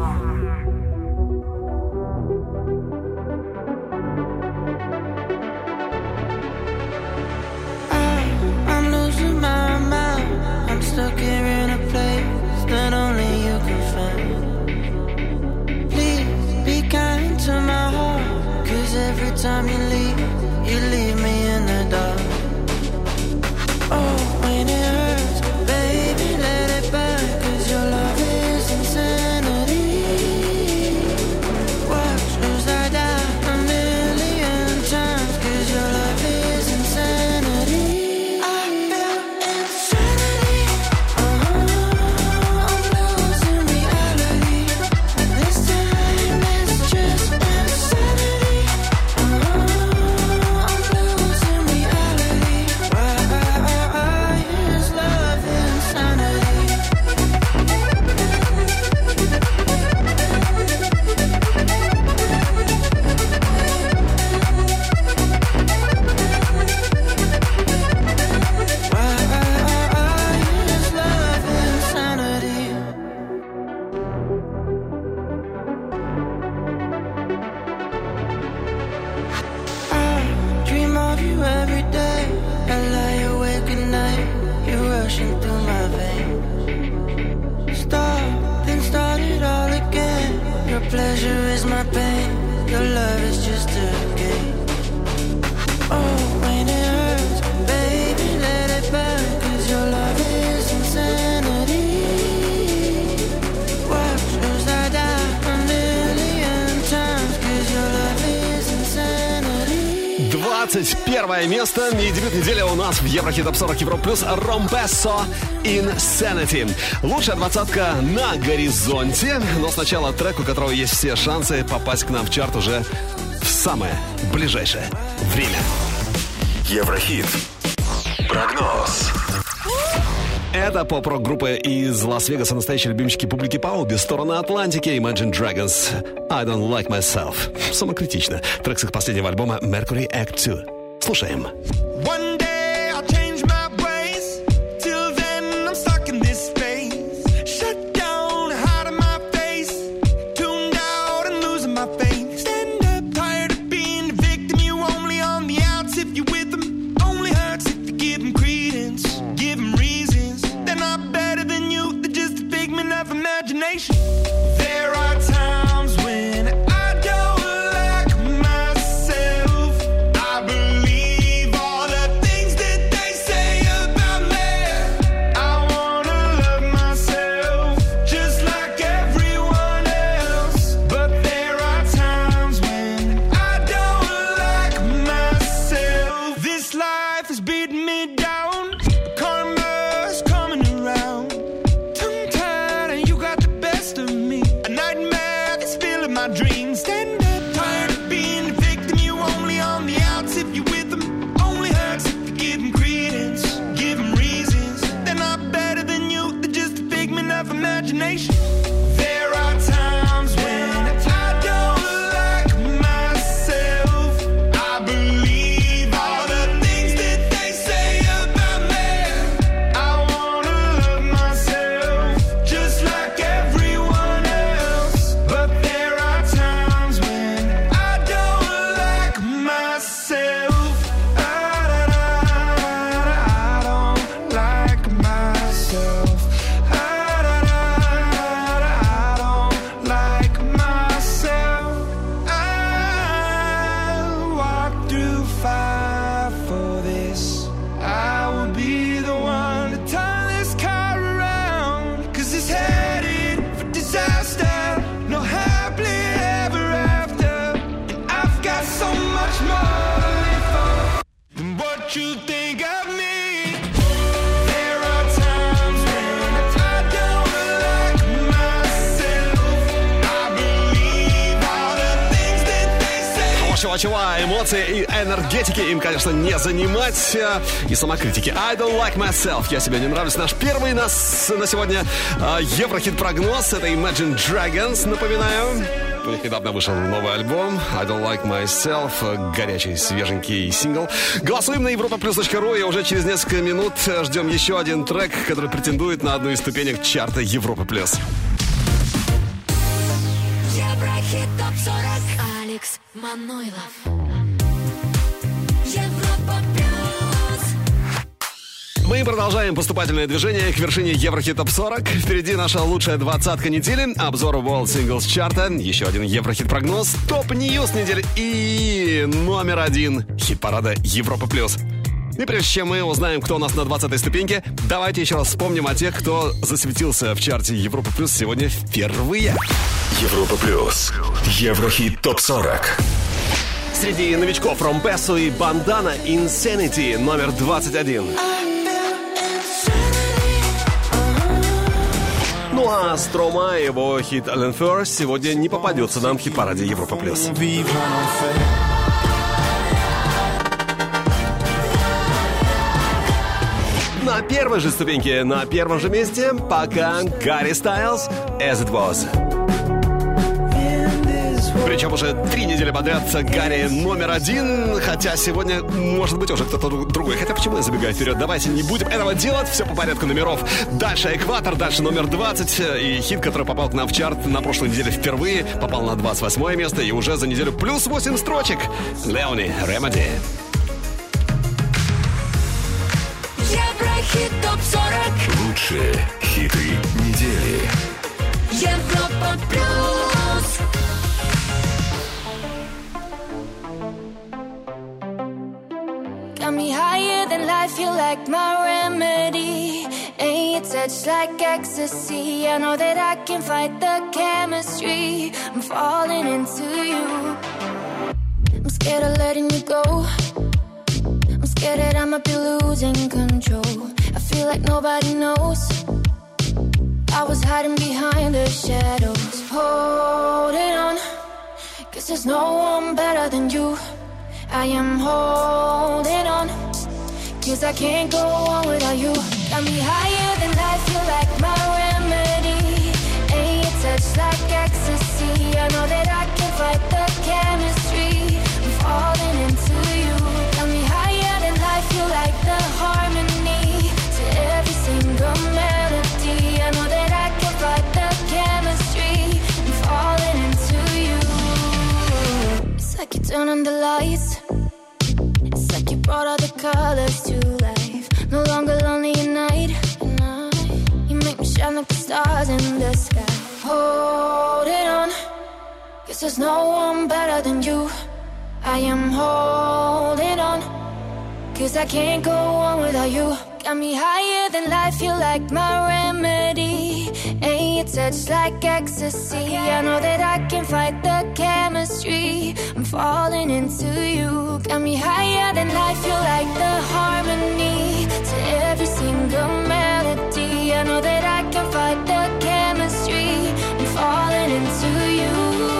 S8: I'm losing my mind. I'm stuck here in a place that only you can find. Please be kind to my heart, 'cause every time you leave me in the dark. Oh, when it hurts, baby, let it burn, 'cause your love is insanity. Watch as I die a million times, 'cause your love is insanity. I feel insanity. I'm losing reality. This time it's just insanity. I'm losing reality. Why is love insanity? Why is love insanity? I dream of you every day. I lie awake at night. You're rushing through my veins. Stop, then start it all again. Your pleasure is my pain. Your love is just a game. Oh, when it hurts, baby, let it burn, 'cause your love is insanity. Watch as I die a million times, 'cause your love is insanity.
S2: 21 место. И дебют недели у нас в Еврохит Топ 40 Европа плюс Ромпесо Insanity. Лучшая двадцатка на горизонте. Но сначала трек, у которого есть все шансы попасть к нам в чарт уже в самое ближайшее время.
S3: Еврохит. Прогноз.
S2: Это поп-рок группа из Лас-Вегаса, настоящие любимчики публики по обе стороны Атлантики. Imagine Dragons, I Don't Like Myself. Самокритично. Трек с их последнего альбома Mercury Act 2. Слушаем.
S9: One day I'll change my ways. Till then I'm stuck in this space. Shut down, hide in my face. Tuned out and losing my faith. Stand up, tired of being the victim. You only on the outs if you're with them. Only hurts if you give them credence. Give them reasons. They're not better than you. They're just a figment of imagination. There are times when I don't like myself. I believe all the things that they say about me. I wanna love myself just like everyone else. But there are times when I don't like myself. This life is beating me down. Karma's coming around. Tongue-tied and you got the best of me. A nightmare that's filling my dreams. Stand up, tired of being a victim. You only on the outs if you're with them. Only hurts if you give them credence. Give them reasons. They're not better than you. They're just a figment of imagination. There are times when I don't like myself. I believe all the things that they say about me. I wanna love myself just like everyone else. But there are times when I don't like myself. I don't like myself. I don't like myself. I walk through fire for this. I will be the one to turn this car around. 'Cause it's headed for disaster. No happily ever after. And I've got so much more to live for than what you think of me.
S2: чего, эмоции и энергетики им, конечно, не занимать. И самокритики. I don't like myself. Я себе не нравлюсь. Наш первый на сегодня Еврохит-прогноз. Это Imagine Dragons, напоминаю. У них недавно вышел новый альбом I Don't Like Myself. Горячий, свеженький сингл. Голосуем на europaplus.ru. И уже через несколько минут ждем еще один трек, который претендует на одну из ступенек чарта Европа Плюс.
S1: Еврохит ТОП-40. Алекс Манойлов. Европа Плюс.
S2: Мы продолжаем поступательное движение к вершине Еврохит ТОП-40. Впереди наша лучшая двадцатка недели, обзор World Singles чарта, еще один Еврохит-прогноз, топ-ньюс недели и номер один хит-парада Европа Плюс. И прежде чем мы узнаем, кто у нас на 20-й ступеньке, давайте еще раз вспомним о тех, кто засветился в чарте Европа Плюс сегодня впервые.
S3: Европа Плюс. Еврохит ТОП-40.
S11: Среди новичков Ромпесу и Бандана Insanity номер 21. Ну а Строма и его хит Allen First сегодня не попадется нам в хит-параде Европа Плюс. На первой же ступеньке, на первом же месте пока Гарри Стайлз As It Was.
S2: Причем уже 3 недели подряд Гарри номер один. Хотя сегодня, может быть, уже кто-то другой. Хотя почему я забегаю вперед? Давайте не будем этого делать. Все по порядку номеров. Дальше Экватор, дальше номер 20. И хит, который попал к нам в чарт на прошлой неделе впервые, попал на 28 место. И уже за неделю плюс 8 строчек. Леони, Ремеди.
S1: Еврохит ТОП-40.
S3: Лучшие хиты недели.
S1: Европа Плюс. Got me higher than life, you like my remedy. Ain't your touch like ecstasy. I know that I can fight the chemistry. I'm falling into you. I'm scared of letting you go. I'm scared that I might be losing control. I feel like nobody knows. I was hiding behind the shadows, holding on, 'cause there's no one better than you. I am holding on, 'cause I can't go on without you. Got me higher than life, you like my remedy. Ain't your touch like ecstasy. I know that I can fight the chemistry. I'm falling into you. Got me higher than life, you like the harmony to every single melody. I know that I can fight the chemistry. I'm falling into you. It's like you turn on the lights. It's like you brought all the colors to life. No longer lonely at night. You make me shine like the stars in the sky. Holding on, 'cause there's no one better than you. I am holding on, 'cause I can't go on without you. Got me higher than life, you like my remedy. Ain't your touch like ecstasy. I know that I can fight the chemistry. I'm falling into you. Got me higher than life, you like the harmony to every single melody. I know that I can fight the chemistry. I'm falling into you.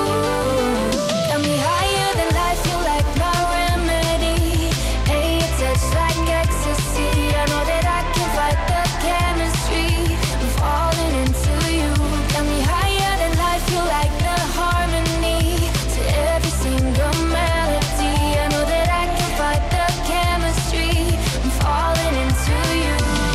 S1: Got me higher than life, you like my remedy. Ain't your touch like ecstasy. I know that I can fight the chemistry. I'm falling into you. Got me higher than life, you like the harmony to every single melody. I know that I can fight the chemistry. I'm falling into you.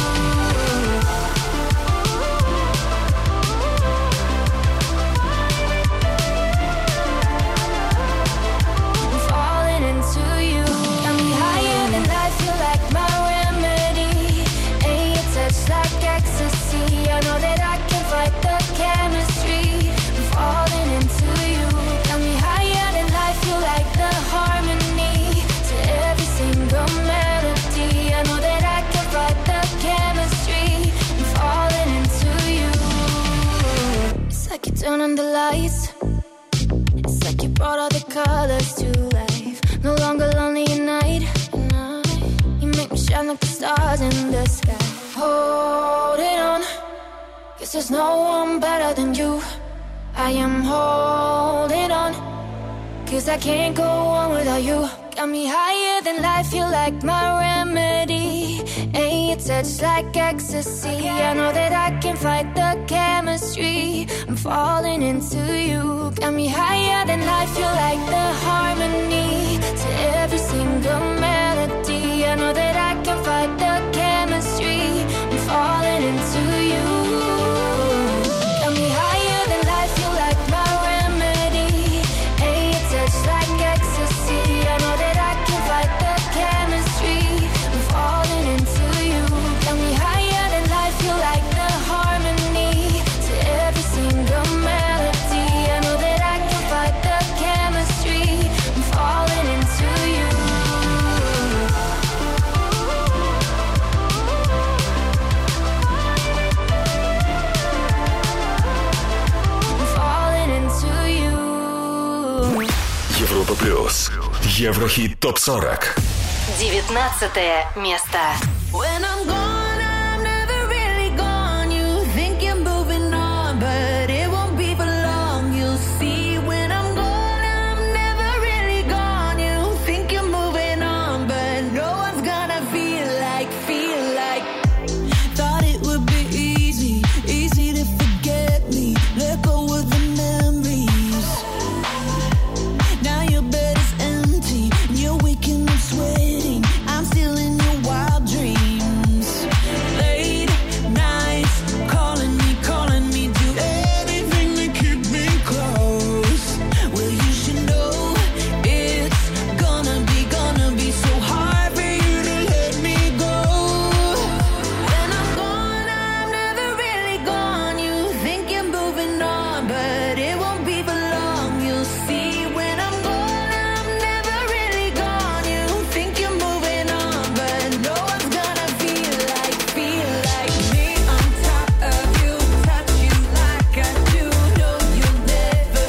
S1: I'm falling into you. Got me higher than life, you like my remedy. Ain't your touch like ecstasy. I know that I can fight the chemistry. I'm falling into you. Got me higher than life, you like the harmony to every single melody. I know that I can fight the chemistry. I'm falling into you. It's like you turn on the lights. It's like you brought all the colors to life. No longer lonely at night. You make me shine like the stars in the sky. Holding on, 'cause there's no one better than you. I am holding on, 'cause I can't go on without you. Got me higher than life, you're like my remedy. And your touch like ecstasy. I know that I can fight the chemistry. I'm falling into you. Got me higher than life, you're like the harmony to every single melody. I know that I can fight the chemistry. I'm falling into you. Got me higher than life, you're like my remedy. And your touch like ecstasy. I know that I can fight the chemistry. I'm falling into you. Got me higher than life, you're like the harmony to every single melody. I know that I can fight the chemistry. I'm falling into you. I'm falling into you.
S3: Европа плюс. Еврохит ТОП-40.
S4: 19 место.
S5: When I'm gone, I'm never really gone. You think you're moving on, but it won't be for long. You'll see when I'm gone, I'm never really gone. You think you're moving on, but no one's gonna feel like. Thought it would be easy to forget me. Let go of the memories. Now your bed is empty, and you're waking up sweating. I'm still in your wild dreams. Late nights, calling me, do anything to keep me close. Well, you should know it's gonna be so hard for you to let me go. When I'm gone, I'm never really gone. You think you're moving on, but it won't be for long. You'll see when I'm gone, I'm never really gone. You think you're moving on, but no one's gonna feel like me on top of you, touch you like I do. No, you'll never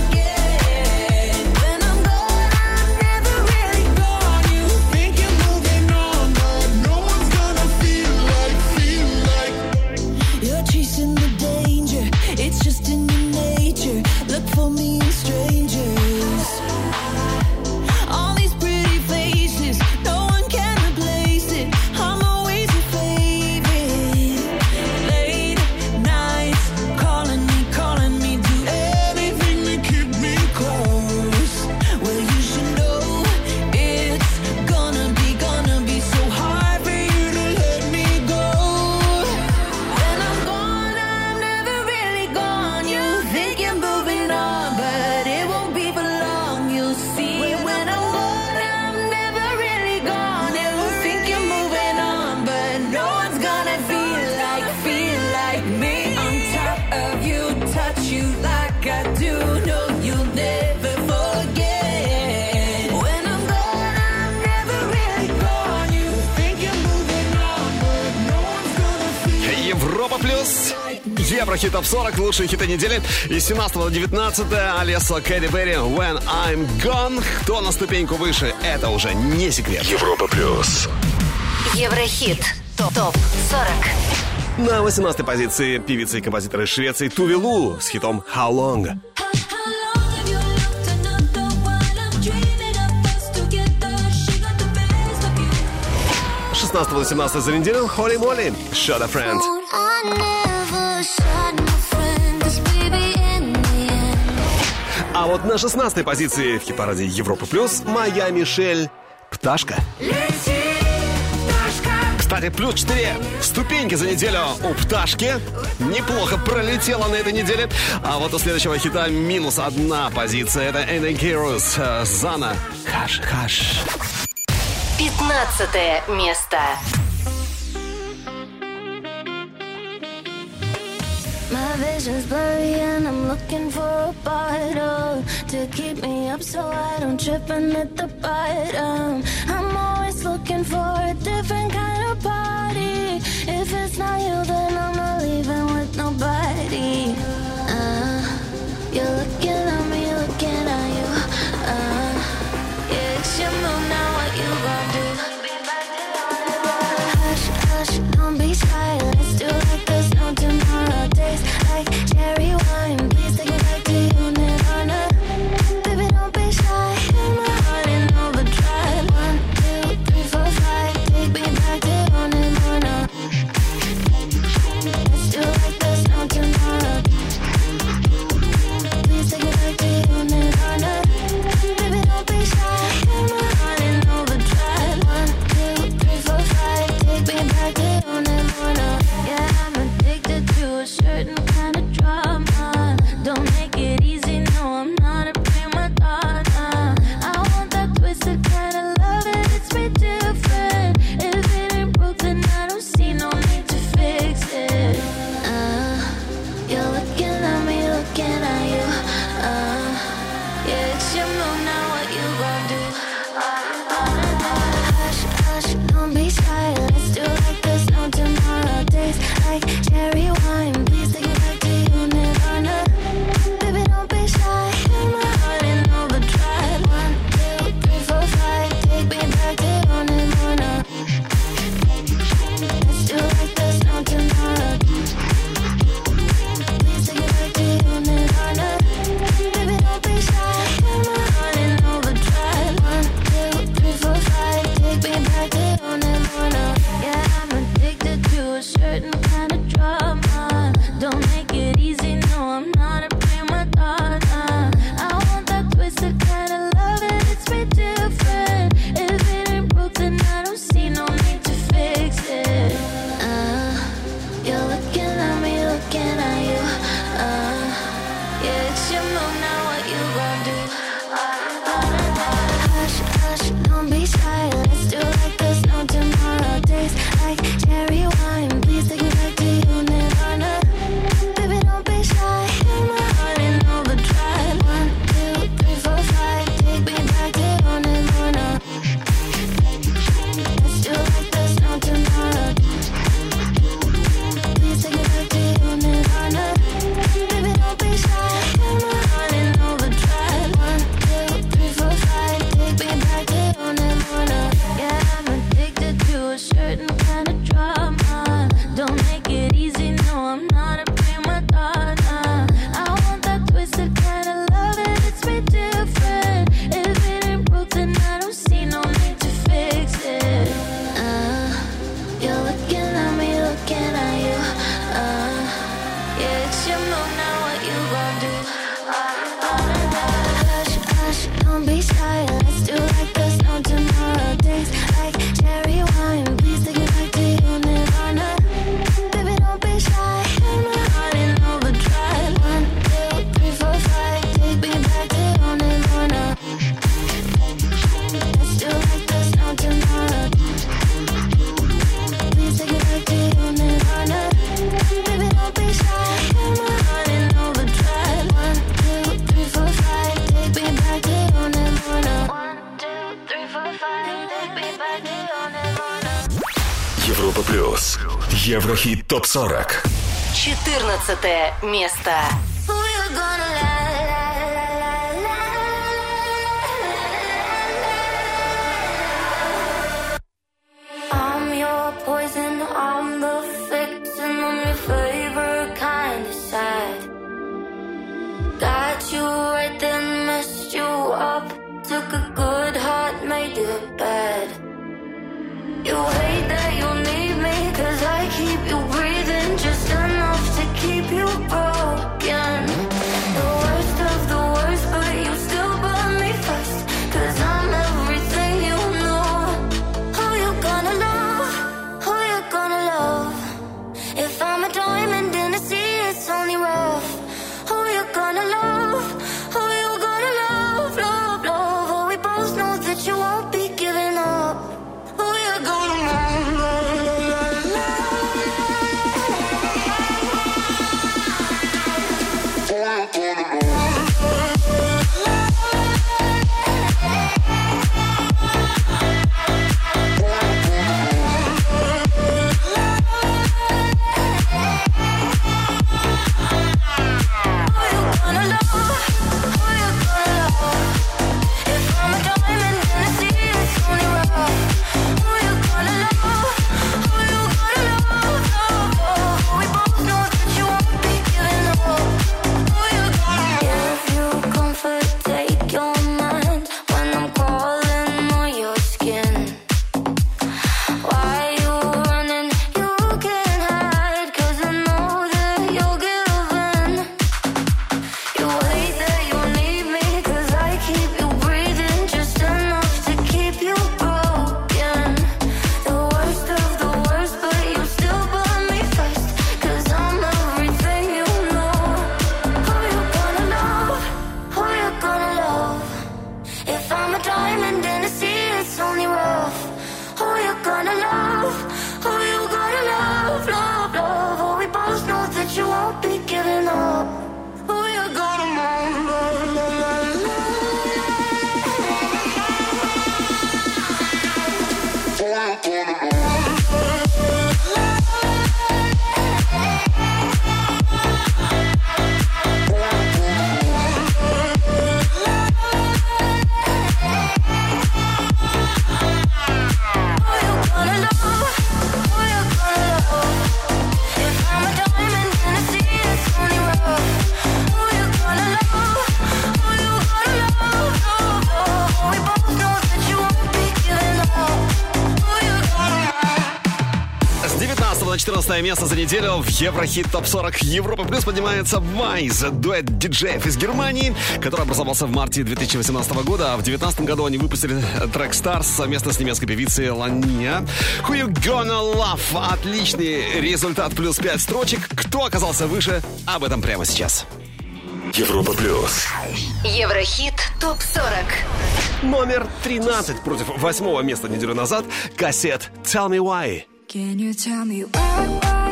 S5: forget. When I'm gone, I'm never really gone. You think you're moving on, but no one's gonna feel like. You're chasing the danger, it's just in your nature. Look for me in strangers. All these pretty faces, no one can replace it. I'm always your favorite. Late nights, calling me, do anything to keep me close. Well, you should know it's gonna be so hard for you to let me go. When I'm gone, I'm never really gone. You think you're moving on, but it won't be for long. You'll see when I'm gone, I'm never really gone. You think you're moving on, but no one's gonna feel like me on top of you, touch you like I do. No, you'll never forget. When I'm gone, I'm never really gone. You think you're moving on, but no one's gonna feel.
S2: Европа плюс. Еврохит ТОП-40. Лучшие хиты недели. Из 17 до 19 Алессо, Кэти Перри, When I'm Gone. Кто на ступеньку выше, это уже не секрет.
S3: Европа плюс.
S4: Еврохит ТОП-40.
S2: На 18-й позиции певица и композитор из Швеции Туви Лу с хитом How Long. 16 до 17 за неделю Холли Молли, Shot a Friend. А вот на 16-й позиции в хит-параде Европа Плюс моя Мишель «Пташка». Кстати, плюс 4 ступеньки за неделю у «Пташки». Неплохо пролетела на этой неделе. А вот у следующего хита минус 1 позиция. Это Энни Кирус, Зана, Хаш, Хаш.
S4: 15 место.
S1: My vision's blurry and I'm looking for a bottle to keep me up so I don't trip and hit the bottom. I'm always looking for a different kind of party. If it's not you, then I'm not leaving with nobody. You're looking at me, looking at you. Yeah, it's your move now, what you gon' do? Hush, hush, don't be shy. Let's do like there's no tomorrow. Days like cherry wine. Please take it back to you, Nirvana. Baby, don't be shy.
S3: Европа плюс. Еврохит ТОП-40.
S4: 14 место.
S1: I'm your poison, I'm the fixin', I'm your favorite kind of sad. Got you right then, messed you up. Took a good heart, made it bad. You hate that you need me, 'cause I keep you breathing just enough to keep you broken. The worst of the worst, but you still burn me first, 'cause I'm everything you know. Who you gonna love? Who you gonna love? If I'm a diamond in the sea, it's only rough. Who you gonna love? Who you gonna love? Love, love. Oh, we both know that you won't be giving up. Who you gonna love?
S2: Место за неделю в Еврохит ТОП-40 Европа Плюс поднимается Вайз, дуэт диджеев из Германии, который образовался в марте 2018 года, а в 2019 году они выпустили трек Stars совместно с немецкой певицей Лания. Who You Gonna Love? Отличный результат, плюс 5 строчек. Кто оказался выше? Об этом прямо сейчас.
S3: Европа Плюс.
S4: Еврохит ТОП-40.
S2: Номер 13 против 8 места неделю назад. Кассет Tell Me Why.
S1: Can you tell me why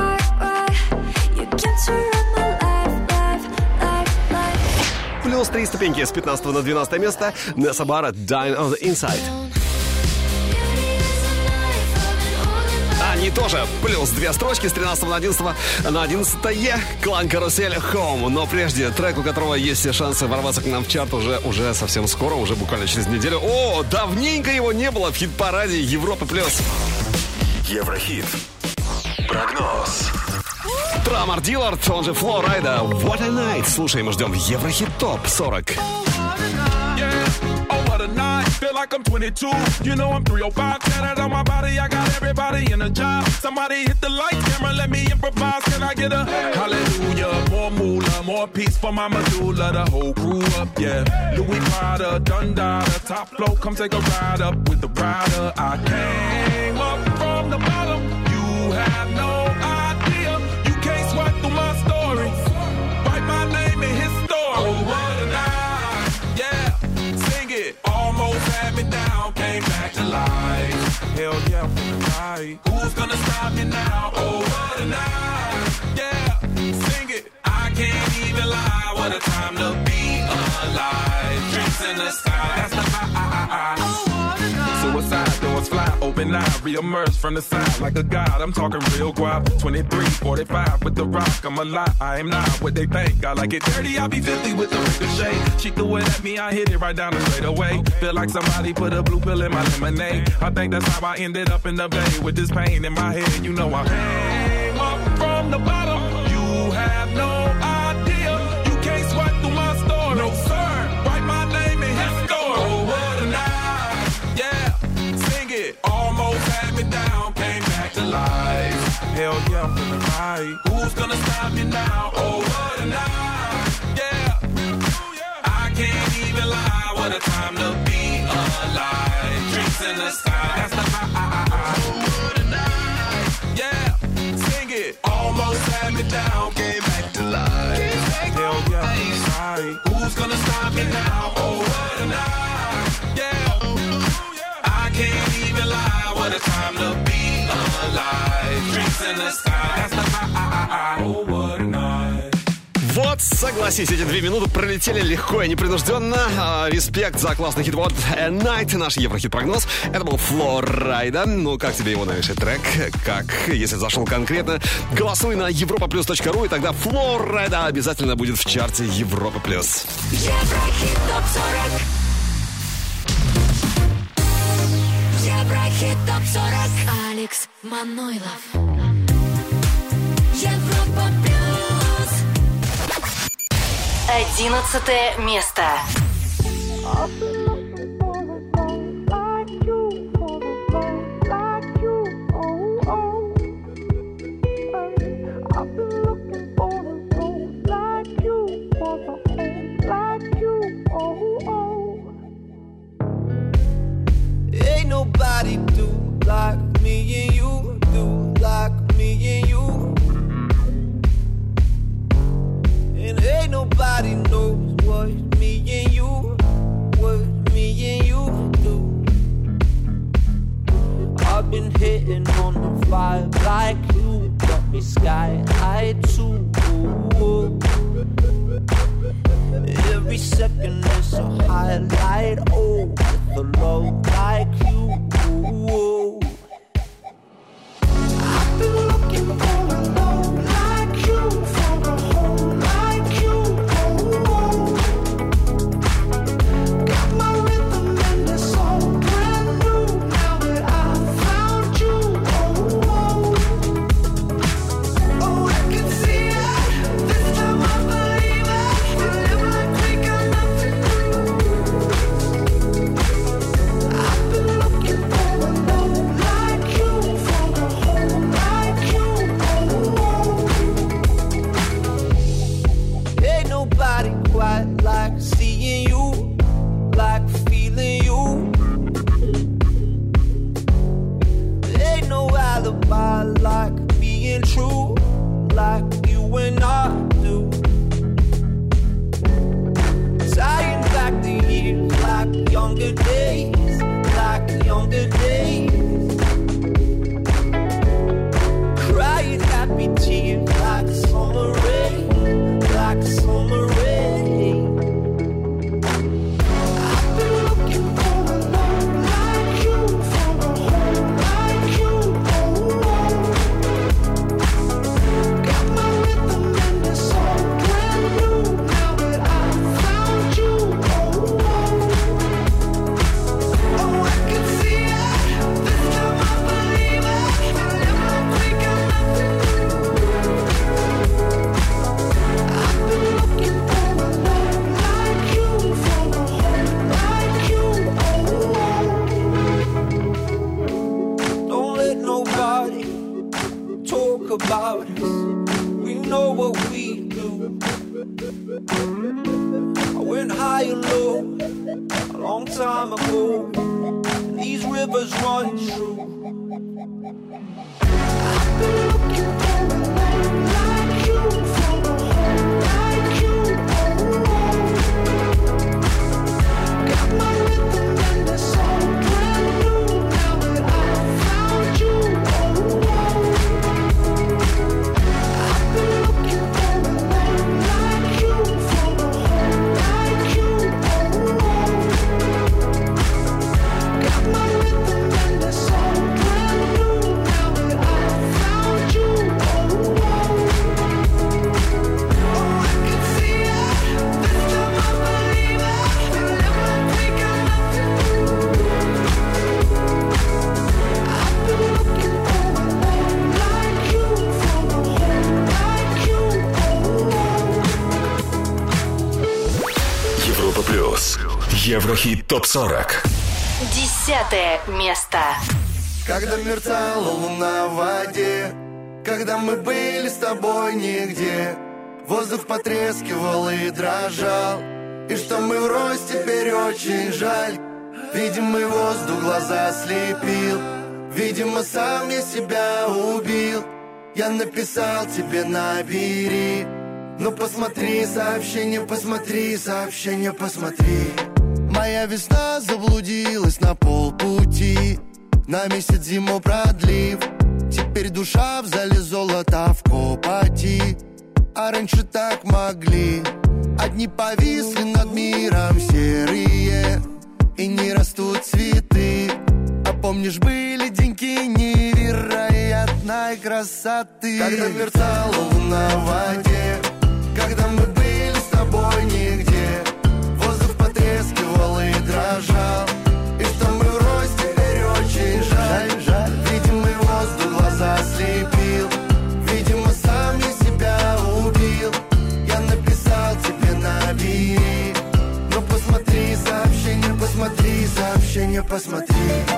S1: you get to run my life?
S2: Плюс 3 ступеньки с 15 на 12 место. Несса Барретт, Dying on the Inside. Они тоже плюс 2 строчки с 13 на 11 на 11-е. Клан Карусель Home. Но прежде трек, у которого есть все шансы ворваться к нам в чарт уже совсем скоро, уже буквально через неделю. О, давненько его не было в хит-параде Европы Плюс.
S3: Еврохит. Прогноз.
S2: Трамар Диллард, он же Фло Райда. What a Night. Слушаем и ждем в Еврохит ТОП-40.
S12: Feel like I'm 22, you know I'm 305. Tatted on my body, I got everybody in a job. Somebody hit the lights, camera, let me improvise. Can I get a hallelujah? More moolah, more peace for my medulla. The whole crew up, yeah. Louis Prada, Dundada, top flow, come take a ride up with the rider. I came up from the bottom, you have no idea. You can't sweat through my story. Write my name in his story. Oh, what a night, yeah. Sing it. Almost had me down, came back to life. Hell yeah, right. Who's gonna stop me now? Oh, what a night, yeah. Sing it. I can't even lie. What a time to be alive. Drinks in the sky, that's the high. Oh, what a night. Suicide doors fly open. and I reemerge from the side like a god. I'm talking real guap. 23, 45 with the rock. I'm a lot. I am not what they think. I like it dirty. I'll be 50 with the ricochet. She threw it at me. I hit it right down the straight away. Feel like somebody put a blue pill in my lemonade. I think that's how I ended up in the bay with this pain in my head. You know I came up from the bottom. You have no idea. You can't sweat through my story. No sir. Write my name in his story. Oh, what a night. Yeah. Sing it. Almost had me down. Came back to life. Hell yeah, I'm feeling right. Who's gonna stop me now? Oh, what a night. Yeah. I can't even lie. What a time to be alive. Drinks in the sky. That's the high. Almost had me down, came back to life. Hell yeah, sorry. Who's gonna stop me now? Oh, what a night. Yeah, I can't even lie. What a time to be alive. Drinks in the sky, that's the high. Oh, what a night.
S2: Вот, согласись, эти 2 минуты пролетели легко и непринужденно. Респект за классный хит. Вот A Night, наш Еврохит-прогноз. Это был Фло Райда. Ну, как тебе его новейший трек? Как, если зашел конкретно, голосуй на europaplus.ru, и тогда Фло Райда обязательно будет в чарте Европа+.
S1: Еврохит ТОП-40. Еврохит ТОП-40. Алекс Манойлов. Европа+.
S4: 11 место.
S13: Ain't nobody do like me and you, do like me and you. And ain't nobody knows what me and you do. I've been hitting on the vibe like you, got me sky high too. Every second is a highlight, oh, with a love like you. I've been looking for a love like you, for a home like you. Got my rhythm and it's all brand new now that I found you. Oh, I can see it. This time I believe it. We live like we got nothing to lose. I've been looking for a love like you, for a home like you. Ain't nobody quite like seeing you, like feeling you. Ain't no alibi like being true, like you and I do. Tying back the years like younger days, like younger days. Crying happy tears like summer rain, like summer rain. I've been looking for a love like you, for a home like you. Got my rhythm and it's all brand new now that I found you. Oh, I can see it. This time I believe it. We live like we got nothing to lose. I've been looking for a love like you, for a home like you. Don't let nobody talk about us. We know what we do. I went high and low a long time ago, and these rivers run true. I've been looking for a love like you, for a home like you. Got my rhythm and it's all brand new now that I found you. I've been looking for a love like you, for a home like you. Got my rhythm and it's all
S3: Еврохит ТОП-40.
S4: 10 место.
S9: Когда мерцала луна в воде, когда мы были с тобой нигде, воздух потрескивал и дрожал, и что мы врозь теперь очень жаль. Видимый воздух глаза слепил, видимо, сам я себя убил. Я написал тебе, набери, но посмотри сообщение, посмотри сообщение, посмотри. Моя весна заблудилась на полпути, на месяц зиму продлив. Теперь душа в зале золота в копоти, а раньше так могли. Одни повисли над миром серые, и не растут цветы. А помнишь, были деньки невероятной красоты, когда мерцала луна в воде, когда мы были с тобой нигде, воздух потрескивал и дрожал, и что мы врозь теперь очень жаль. Видимый воздух глаза слепил, видимо, сам я себя убил. Я написал тебе, набери, но посмотри сообщение, посмотри сообщение, посмотри.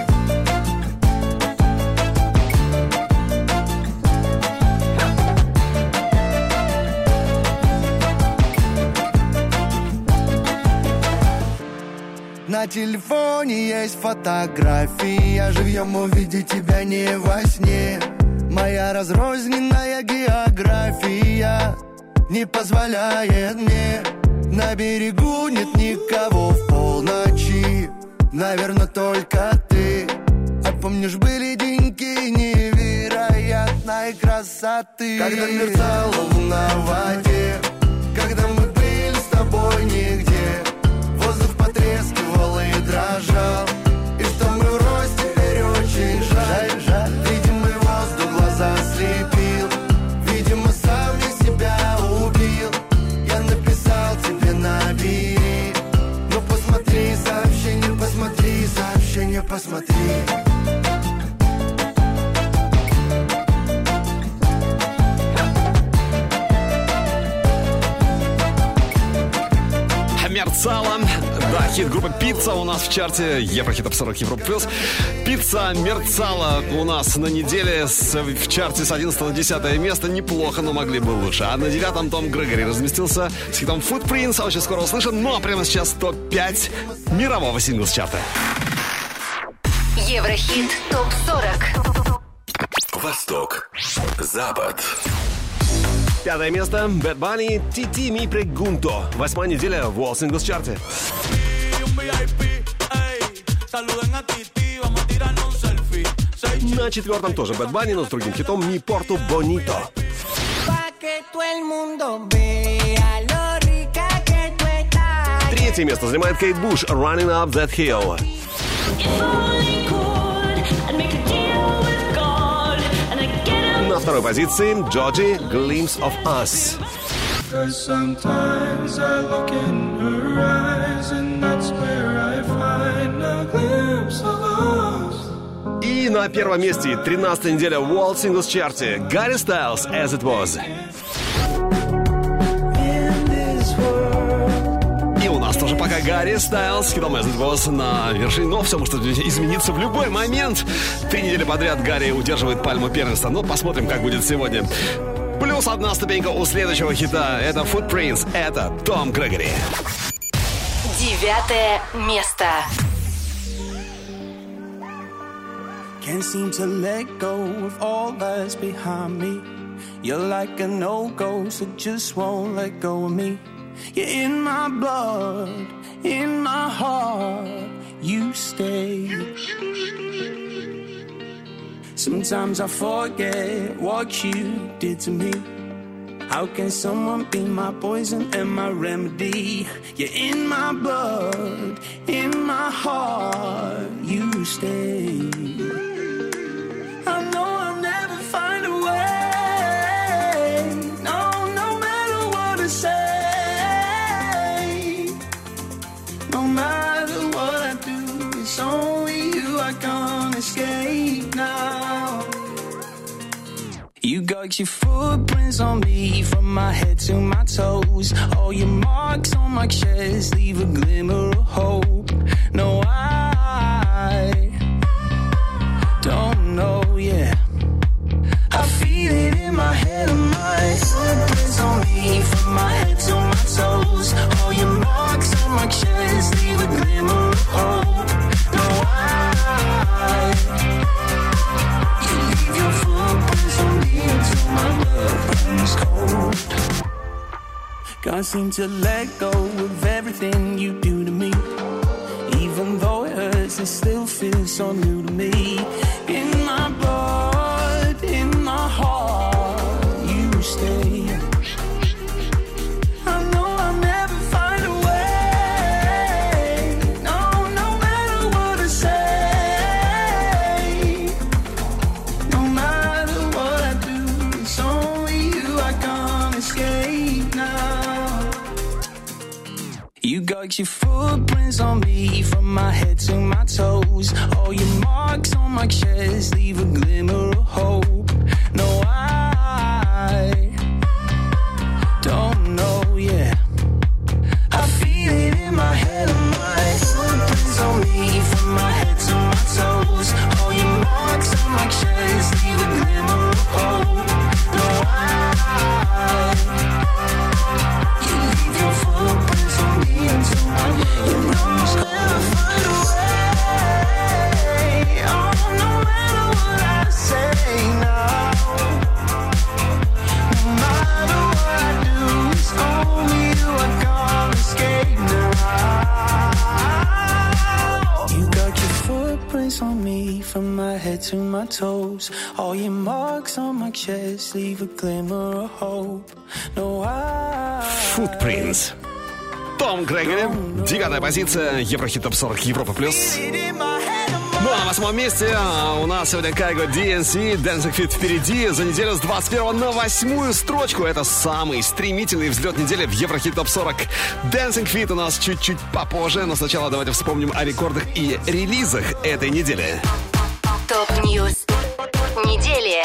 S9: На телефоне есть фотография, живьем увидеть тебя не во сне. Моя разрозненная география не позволяет мне. На берегу нет никого в полночи, наверное, только ты. А помнишь, были деньги невероятной красоты, когда мерцала луна в воде, когда мы были с тобой нигде, воздух потрескивал и дрожал, и что мы врозь теперь очень жаль. Видимый воздух глаза слепил, видимо, сам я себя убил. Я написал тебе, набери, но посмотри сообщение, посмотри сообщение, посмотри.
S2: Мерцала. Да, хит группы «Пицца» у нас в чарте Еврохит ТОП-40 Европа Плюс. «Пицца» мерцала у нас на неделе в чарте с 11 на 10 место. Неплохо, но могли бы лучше. А на 9-м Том Грегори разместился с хитом «Footprints». Очень скоро услышим. Ну а прямо сейчас топ-5 мирового сингла с чарта.
S4: Еврохит ТОП-40.
S3: Восток. Запад.
S11: 5 место. Bad Bunny, Titi Mi Pregunto. 8-я неделя в World Singles чарте. На 4-м тоже Bad Bunny, но с другим хитом Mi Porto Bonito. 3-е место занимает Кейт Буш, Running Up That Hill. На 2-й позиции Джорджи, Glimpse of Us. И на 1-м месте 13-я неделя в World Singles чарте Гарри Стайлз, As It Was. И у нас тоже пока Гарри Стайлз, хитом As It Was на вершине. Но все может измениться в любой момент. 3 недели подряд Гарри удерживает пальму первенства. Но посмотрим, как будет сегодня. Плюс 1 ступенька у следующего хита. Это Footprints, это Том Грегори.
S4: 9 место.
S14: Can't seem to let go of all that's behind me. You're like a no-go, so just won't let go of me. You're in my blood, in my heart, you stay. Sometimes I forget what you did to me. How can someone be my poison and my remedy? You're in my blood, in my heart, you stay. I know I'll never find a way. No matter what I say. No matter what I do, it's only you I can't escape now. You got your footprints on me from my head to my toes. All your marks on my chest leave a glimmer of hope. No, I don't know, yeah. I feel it in my head and my footprints on me, from my head to my toes. All your marks on my chest leave a glimmer of hope. No, you leave your footprints on me until my blood runs cold. Can't seem to let go of everything you do to me. Even though it hurts, it still feels so new to me. In my blood, in my heart, you stay. I know I'll never find a way. No, no matter what I say. No matter what I do, it's only you I can't escape now. You got your footprints on me, from my head to my toes. All your marks on my chest leave a glimmer of hope. No, I don't know, yeah. I feel it in my head and my footprints on me, from my head to my toes. All your marks on my chest leave a glimmer of hope. No, you leave your footprints on me until my lungs never find a way. Oh, no matter what I say now, no matter what I do, it's only you I can't escape now. You got your footprints on me, from my head to my toes. All your marks on my chest leave a glimmer of hope. No,
S2: Footprints. Том Грегори, 9-я позиция, Еврохит Топ 40 Европа плюс. Ну а на 8-м месте у нас сегодня Кайго DNC, Dancing Feet впереди. За неделю с 21 на 8-ю строчку. Это самый стремительный взлет недели в Еврохит Топ 40. Dancing Feet у нас чуть-чуть попозже, но сначала давайте вспомним о рекордах и релизах этой недели.
S4: Топ-ньюс недели.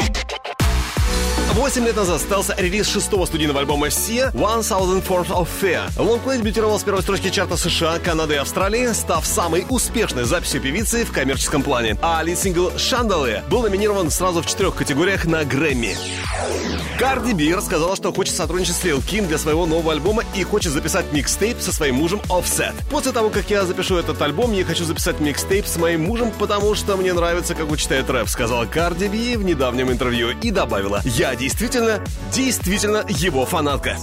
S2: 8 лет назад состоялся релиз 6-го студийного альбома Sia, 1000 Forms of Fear. Лонгплей дебютировал с первой строчки чарта США, Канады и Австралии, став самой успешной записью певицы в коммерческом плане. А лид-сингл «Chandelier» был номинирован сразу в 4 категориях на Грэмми. Карди Би рассказала, что хочет сотрудничать с Лил Ким для своего нового альбома и хочет записать микстейп со своим мужем Offset. После того, как я запишу этот альбом, я хочу записать микстейп с моим мужем, потому что мне нравится, как он читает рэп, сказала Карди Би в недавнем интервью и добавила: «Я действительно его фанатка».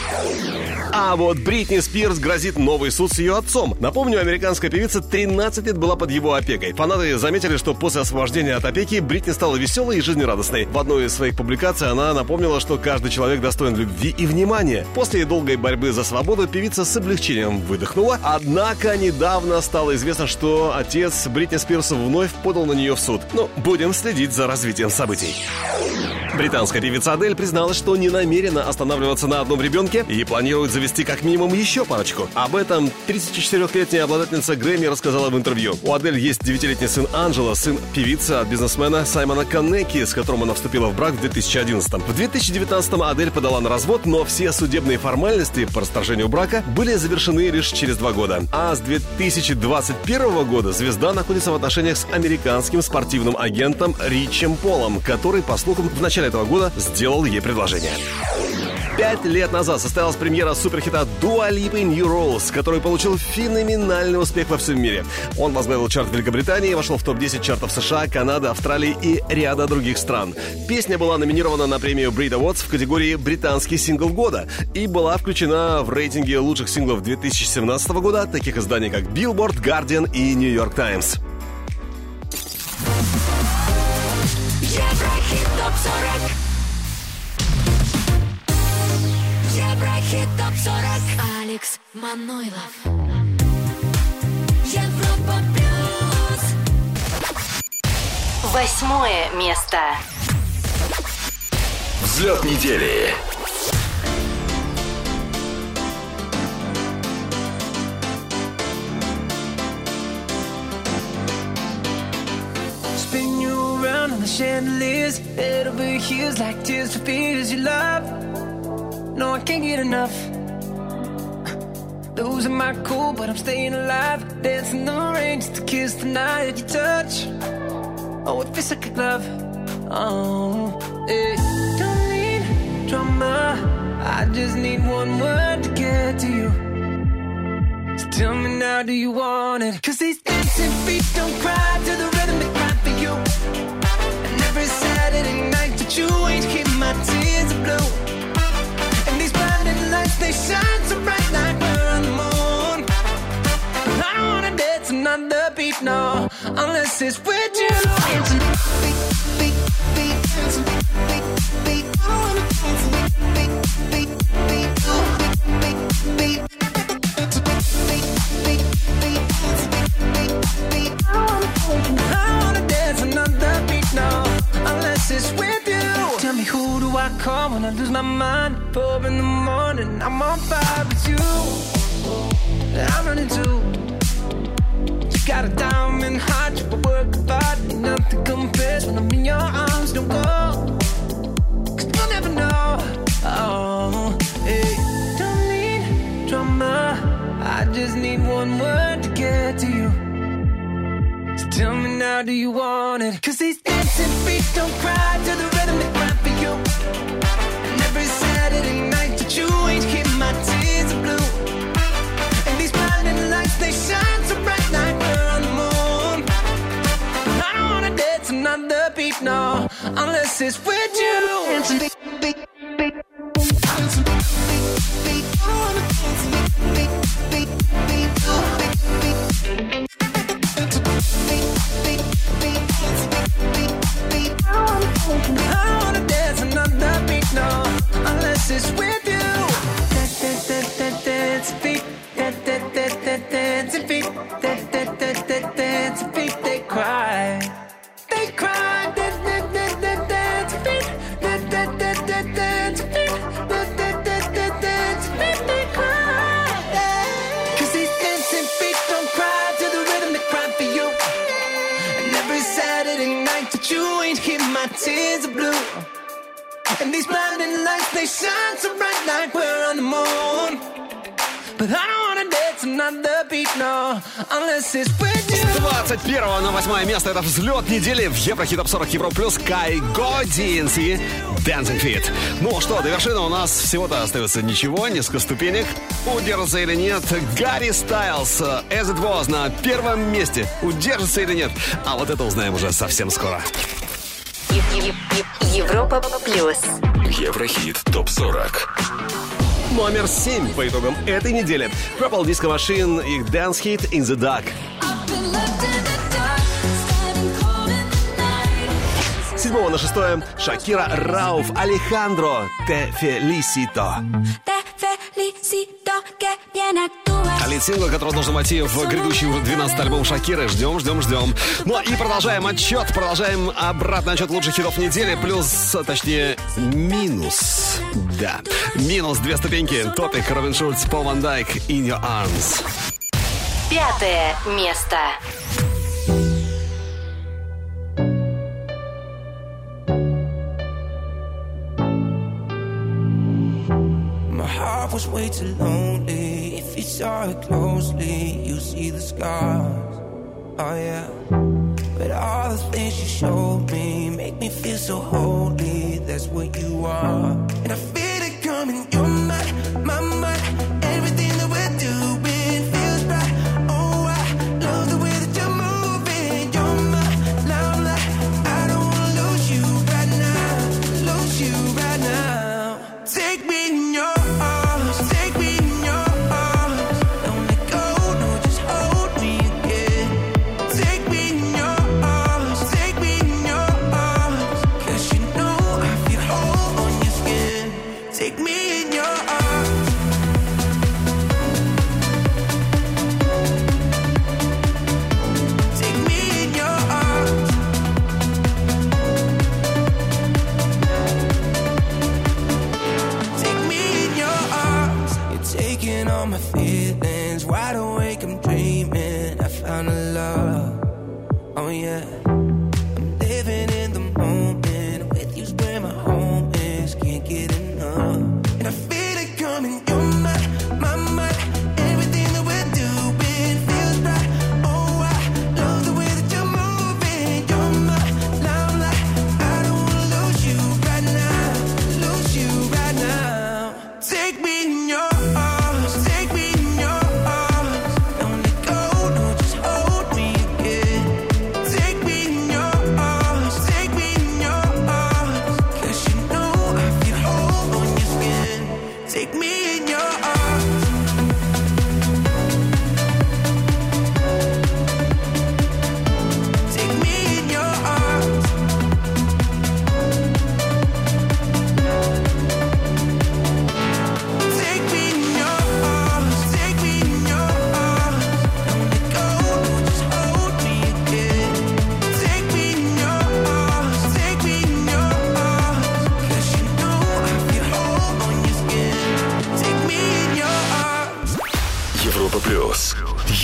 S2: А вот Бритни Спирс грозит новый суд с ее отцом. Напомню, американская певица 13 лет была под его опекой. Фанаты заметили, что после освобождения от опеки Бритни стала веселой и жизнерадостной. В одной из своих публикаций она напомнила, что каждый человек достоин любви и внимания. После долгой борьбы за свободу певица с облегчением выдохнула. Однако недавно стало известно, что отец Бритни Спирс вновь подал на нее в суд. Но будем следить за развитием событий. Британская певица Адель призналась, что не намерена останавливаться на одном ребенке и планирует завести как минимум еще парочку. Об этом 34-летняя обладательница Грэмми рассказала в интервью. У Адель есть 9-летний сын Анджело, сын певицы от бизнесмена Саймона Коннеки, с которым она вступила в брак в 2011-м. В 2019-м Адель подала на развод, но все судебные формальности по расторжению брака были завершены лишь через 2 года. А с 2021 года звезда находится в отношениях с американским спортивным агентом Ричем Полом, который, по слухам, в начале этого года сделал ей предложение. 5 лет назад состоялась премьера суперхита Dua Lipa New Rules, который получил феноменальный успех во всем мире. Он возглавил чарт Великобритании, вошел в топ-10 чартов США, Канады, Австралии и ряда других стран. Песня была номинирована на премию Brit Awards в категории «Британский сингл года» и была включена в рейтинги лучших синглов 2017 года таких изданий, как Billboard, Guardian и New York Times.
S1: Еврохит ТОП-40. Еврохит ТОП-40. Алекс Манойлов. Европа плюс.
S4: 8-е место.
S3: Взлет недели.
S14: Spin you around on the chandeliers, head over heels like tears for fears you love. No, I can't get enough.
S8: Losing my cool, but I'm staying alive. Dancing the rain just to kiss the night. Your touch, oh, it feels like a glove. Oh, yeah. Don't need drama, I just need one word to get to you. So tell me now, do you want it? 'Cause these dancing feet don't cry to the rhythm they cry for you. And every Saturday night that you ain't keep my tears of blue. And these blinding lights, they shine so bright like we're on the moon. I don't wanna dance another beat, no, unless it's with you. Dancing, beat, beat, beat, dancing, beat, beat, I wanna dance, beat, beat, beat, beat, beat, beat. I wanna dance another beat now, unless it's with you. Tell me, who do I call when I lose my mind? 4 in the morning, I'm on fire with you. I'm running too. You got a diamond heart, you work hard, ain't nothing compares when I'm in your arms. Don't go, 'cause you'll never know. Oh, hey, don't need drama, I just need one word to get to you. So tell me now, do you want it? 'Cause these dancing feet don't cry to the rhythm they cry for you. And every Saturday night that you ain't keep my tears of blue. And these blinding lights, they shine so bright like we're on the moon. I don't wanna dance another beat, no, unless it's with you. Dancing beat, beat, beat, dancing beat, beat, I wanna dance beat, beat, beat, beat, beat, beat. I wanna dance another beat, no, unless it's with you. Dance feet, dance feet, dance feet. They cry, they cry. Dance feet, dance feet, dance feet. They cry. 'Cause these dancing feet don't cry to the rhythm they cry for you. And every Saturday night that you ain't keep my tears of blue. And these blinding lights, they shine so bright like we're on the moon. But I don't wanna dance another beat, no, unless it's with you.
S2: С 21 на 8 место это взлет недели в Еврохит Топ 40 Евро Плюс. Кайго, DNC, Dancing Feet. Ну что, до вершины у нас всего-то остается ничего, несколько ступенек. Удержится или нет Гарри Стайлз, As It Was на первом месте. Удержится или нет? А вот это узнаем уже совсем скоро.
S4: Европа Плюс.
S3: Еврохит Топ 40.
S2: Номер 7 по итогам этой недели. Purple Disco Machine, их Dance Hit In The Dark. С 7 на 6 Шакира, Рауф, Алехандро, Te Felicito. Лид-сингл, который должен войти в грядущий 12-й альбом Шакиры. Ждем. Ну и продолжаем отчет. Продолжаем обратный отчет лучших хитов недели. Плюс, точнее, минус. Да. Минус 2 ступеньки. Топик, Робин Шульц, Пол Ван Дайк, In Your Arms.
S4: 5 место.
S15: My heart was way too lonely. If you saw it closely, you see the scars. Oh yeah. But all the things you showed me make me feel so holy. That's what you are. And I feel it coming. You're my mind. Everything that we're doing feels right. Oh, I love the way that you're moving. You're my limelight. I don't wanna lose you right now. Lose you right now. Take me in your arms. Take me in your arms. Don't let go. No, just hold me again. Take me in your arms. Take me in your arms. 'Cause you know I feel whole on your skin. Take me in your arms. Take me in your arms. Take me in your arms. You're taking all my feelings. Wide awake, I'm dreaming. I found a love. Oh yeah. I'm living in the moment. With you's where my home is. Can't get enough. And I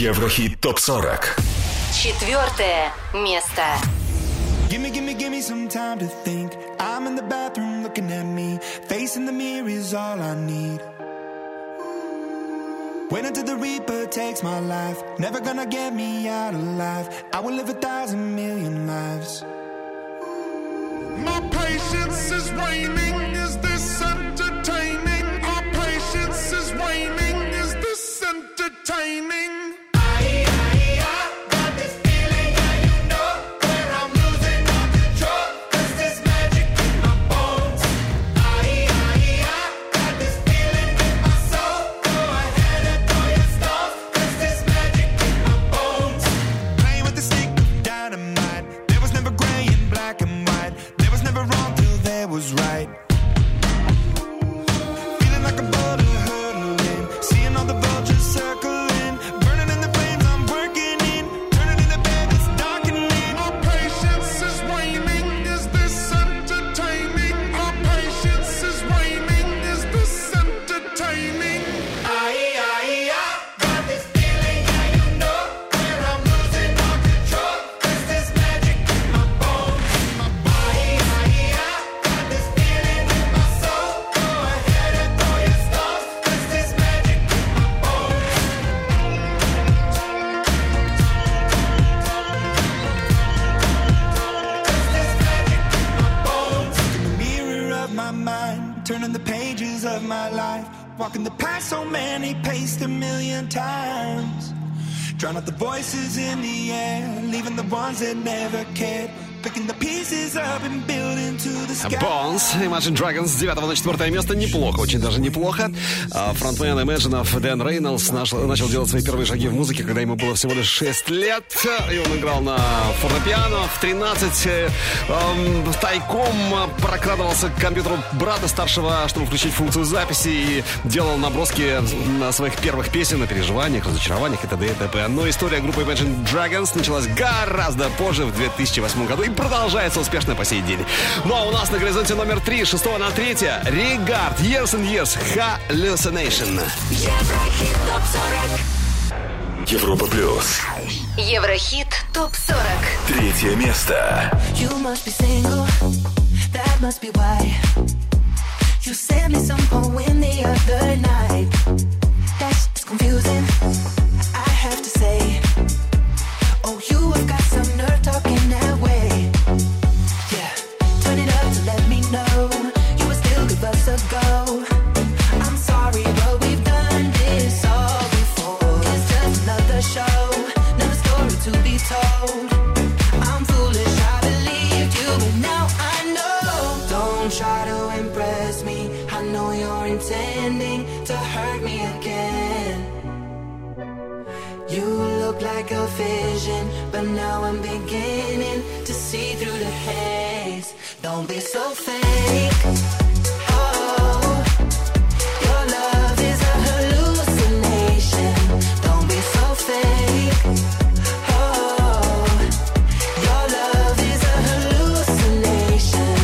S3: Еврохит ТОП-40.
S4: 4 место.
S15: Give me some time to think. I'm in the bathroom looking at me. Facing the mirror is all I need. Wait until the Reaper takes my life. Never gonna get me out alive. I will live 1,000 million lives.
S12: My patience is waning. Is this entertaining? Our patience is waning. Is this entertaining?
S15: Was right. Feeling like a boulder hurtling, seeing all the vultures circling, burning in the flames I'm working in, turning in the bed it's darkening.
S12: Our patience is waning. Is this entertaining? Our patience is waning. Is this entertaining?
S15: Got this feeling, yeah, you know, where I'm losing all control. There's this magic in my bones, in my body. Got this feeling in my soul. Go ahead and throw your stones. There's this magic in my bones. There's this magic in my bones. Look in the mirror of my mind, turning the pages of my life. Walking the path so many paced 1,000,000 times. Drown out the voices in the air, leaving the ones that never cared. Picking the pieces up and building to the sky.
S2: Bones, Imagine Dragons с 9 на 4 место. Неплохо, очень даже неплохо. Фронтмен Imagine Дэн Рейнольдс начал делать свои первые шаги в музыке, когда ему было всего лишь 6 лет. И он играл на фортепиано. В 13 тайком прокрадывался к компьютеру брата старшего, чтобы включить функцию записи, и делал наброски на своих первых песен, на переживаниях, разочарованиях и т.д. и т.п. Но история группы Imagine Dragons началась гораздо позже, в 2008 году, и продолжается успешно по сей день. Ну а у нас на горизонте номер 3, 6 на 3, Regard, Years and Years, Hallucination.
S1: Еврохит ТОП-40.
S3: Европа плюс.
S4: Еврохит ТОП-40.
S3: 3 место.
S1: You must be single, that must be why you sent me some poem the other night. That's confusing, I have to say. Oh, you have got some nerve talking that way. Yeah, turn it up to let me know you would still give us a go. I'm sorry, but we've done this all before. It's just another show, another story to be told. I'm foolish, I believed you, but now I know. Don't try to impress me, I know you're intending to hurt me again. You look like a vision, but now I'm beginning to see through the haze. Don't be so fake. Oh, your love is a hallucination. Don't be so fake. Oh, your love is a hallucination.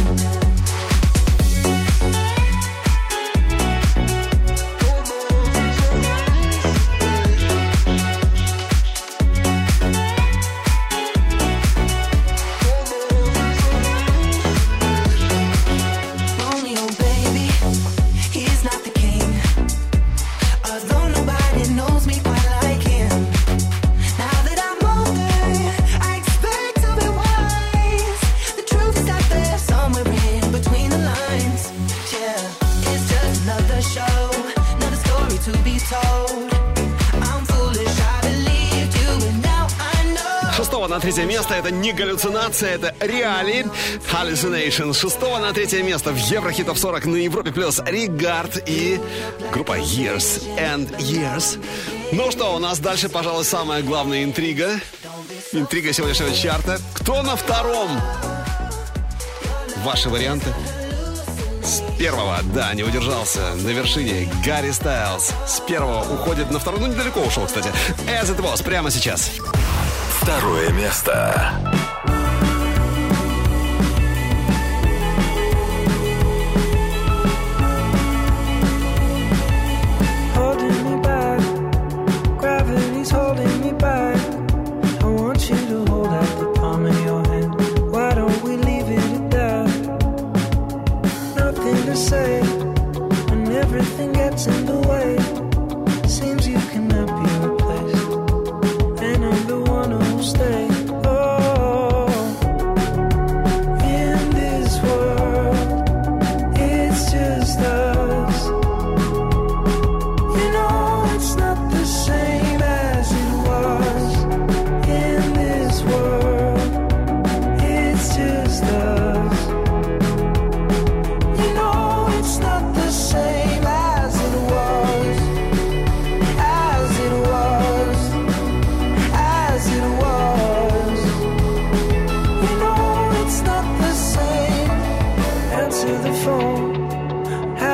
S1: Romeo, baby, he's not the king. Although nobody knows me quite like him. Now that I'm older, I expect to be wise. The truth is out there somewhere in between the lines. Yeah, it's just another show, another story to be told. I'm foolish, I believed you, and now I know.
S2: 6 на 3 место это не галлюцинация, это реалии. Hallucination. С 6 на 3 место в Еврохит ТОП-40 на Европе плюс Regard и группа Years and Years. Ну что, у нас дальше, пожалуй, самая главная интрига. Интрига сегодняшнего чарта. Кто на втором? Ваши варианты? С первого, да, не удержался. На вершине Гарри Стайлз. С первого уходит на второй. Ну, недалеко ушел, кстати. As It Was, прямо сейчас.
S3: 2 место.
S8: Holding me back, gravity's holding me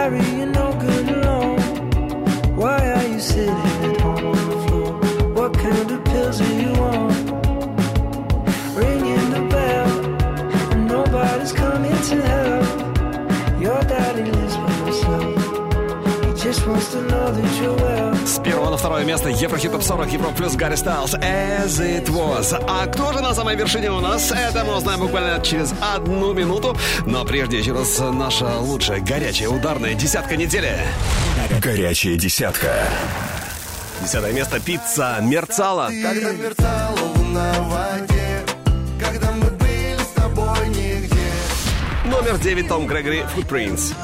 S8: sorry, you're no good alone. Why are you sitting at home on the floor? What kind of pills are you on? Ringing the bell, and nobody's coming to help. Your daddy lives by himself. He just wants to know that you're well.
S2: С первого на второе место Еврохит Топ 40, Европа плюс Гарри Стайлз, As It Was. А кто же на самой вершине у нас? Это мы узнаем буквально через 1 минуту. Но прежде еще раз наша лучшая горячая ударная десятка недели.
S3: Горячая десятка.
S2: 10 место «Пицца мерцала».
S7: Когда мерцала луна в воде, когда мы были с тобой нигде.
S2: Номер 9 Том Грегори «Footprints».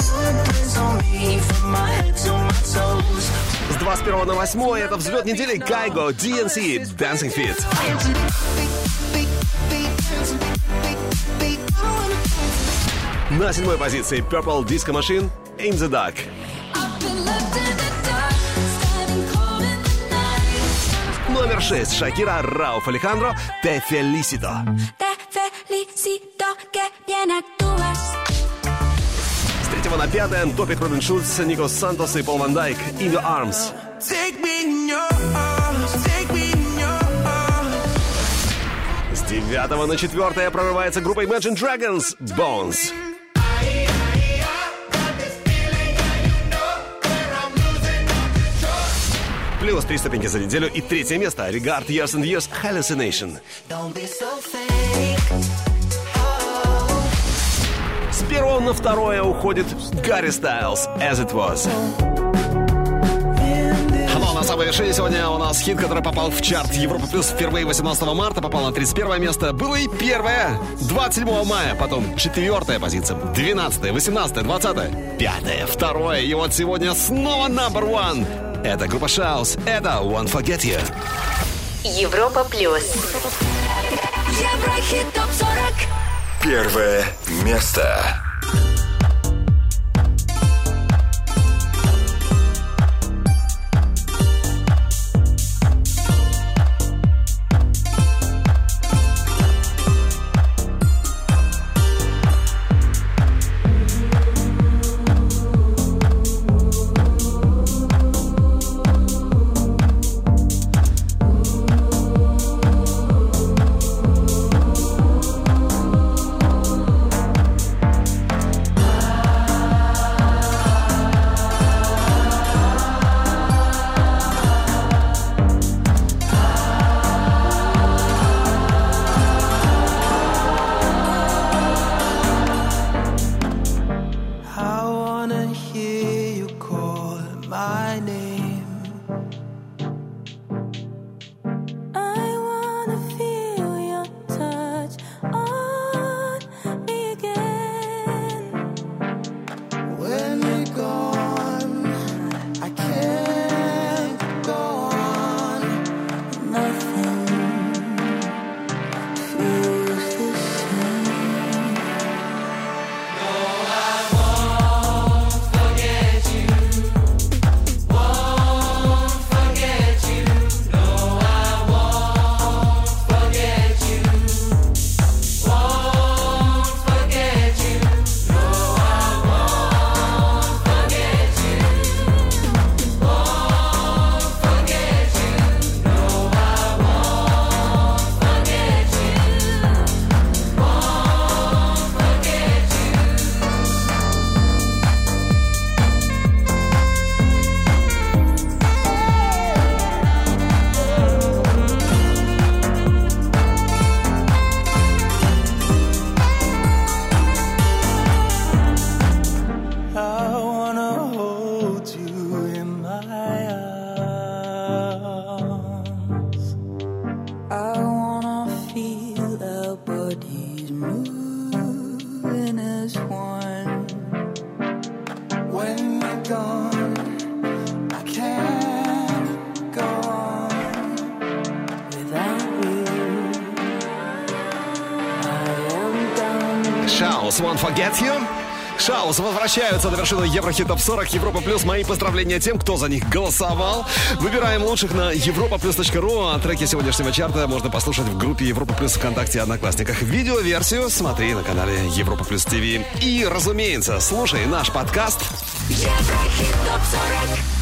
S2: С 21 на 8 это взлет недели Кайго, DNC, Dancing Feet. На 7 позиции Purple Disco Machine, In the Dark. Номер 6 Шакира, Рауф Алехандро, Te Felicito. С 3 на 5 топик Робин Шульц, Никос Сантос и Пол Ван Дайк, In Your Arms. С 9 на 4 прорывается группа Imagine Dragons, Bones. Плюс 3 ступеньки за неделю и 3 место Regard Years and Years, Hallucination. С 1 на 2 уходит Гарри Стайлз, As It Was. Но на самой вершине сегодня у нас хит, который попал в чарт Европа Плюс впервые 18 марта, попал на 31 место. Было и первое 27 мая, потом 4-я позиция, 12-я, 18-я, 20-я, 5-я, 2-я. И вот сегодня снова number one. Это группа Шаус, это Won't Forget You.
S4: Европа Плюс.
S1: Еврохит Топ 40.
S3: Первое место.
S2: Шаус, Won't Forget You. Шаус возвращаются на вершину Еврохит Топ 40 Европа Плюс. Мои поздравления тем, кто за них голосовал. Выбираем лучших на europaplus.ru. А треки сегодняшнего чарта можно послушать в группе Европа Плюс ВКонтакте и Одноклассниках. Видеоверсию смотри на канале Европа Плюс ТВ. И, разумеется, слушай наш подкаст
S1: Еврохит ТОП-40.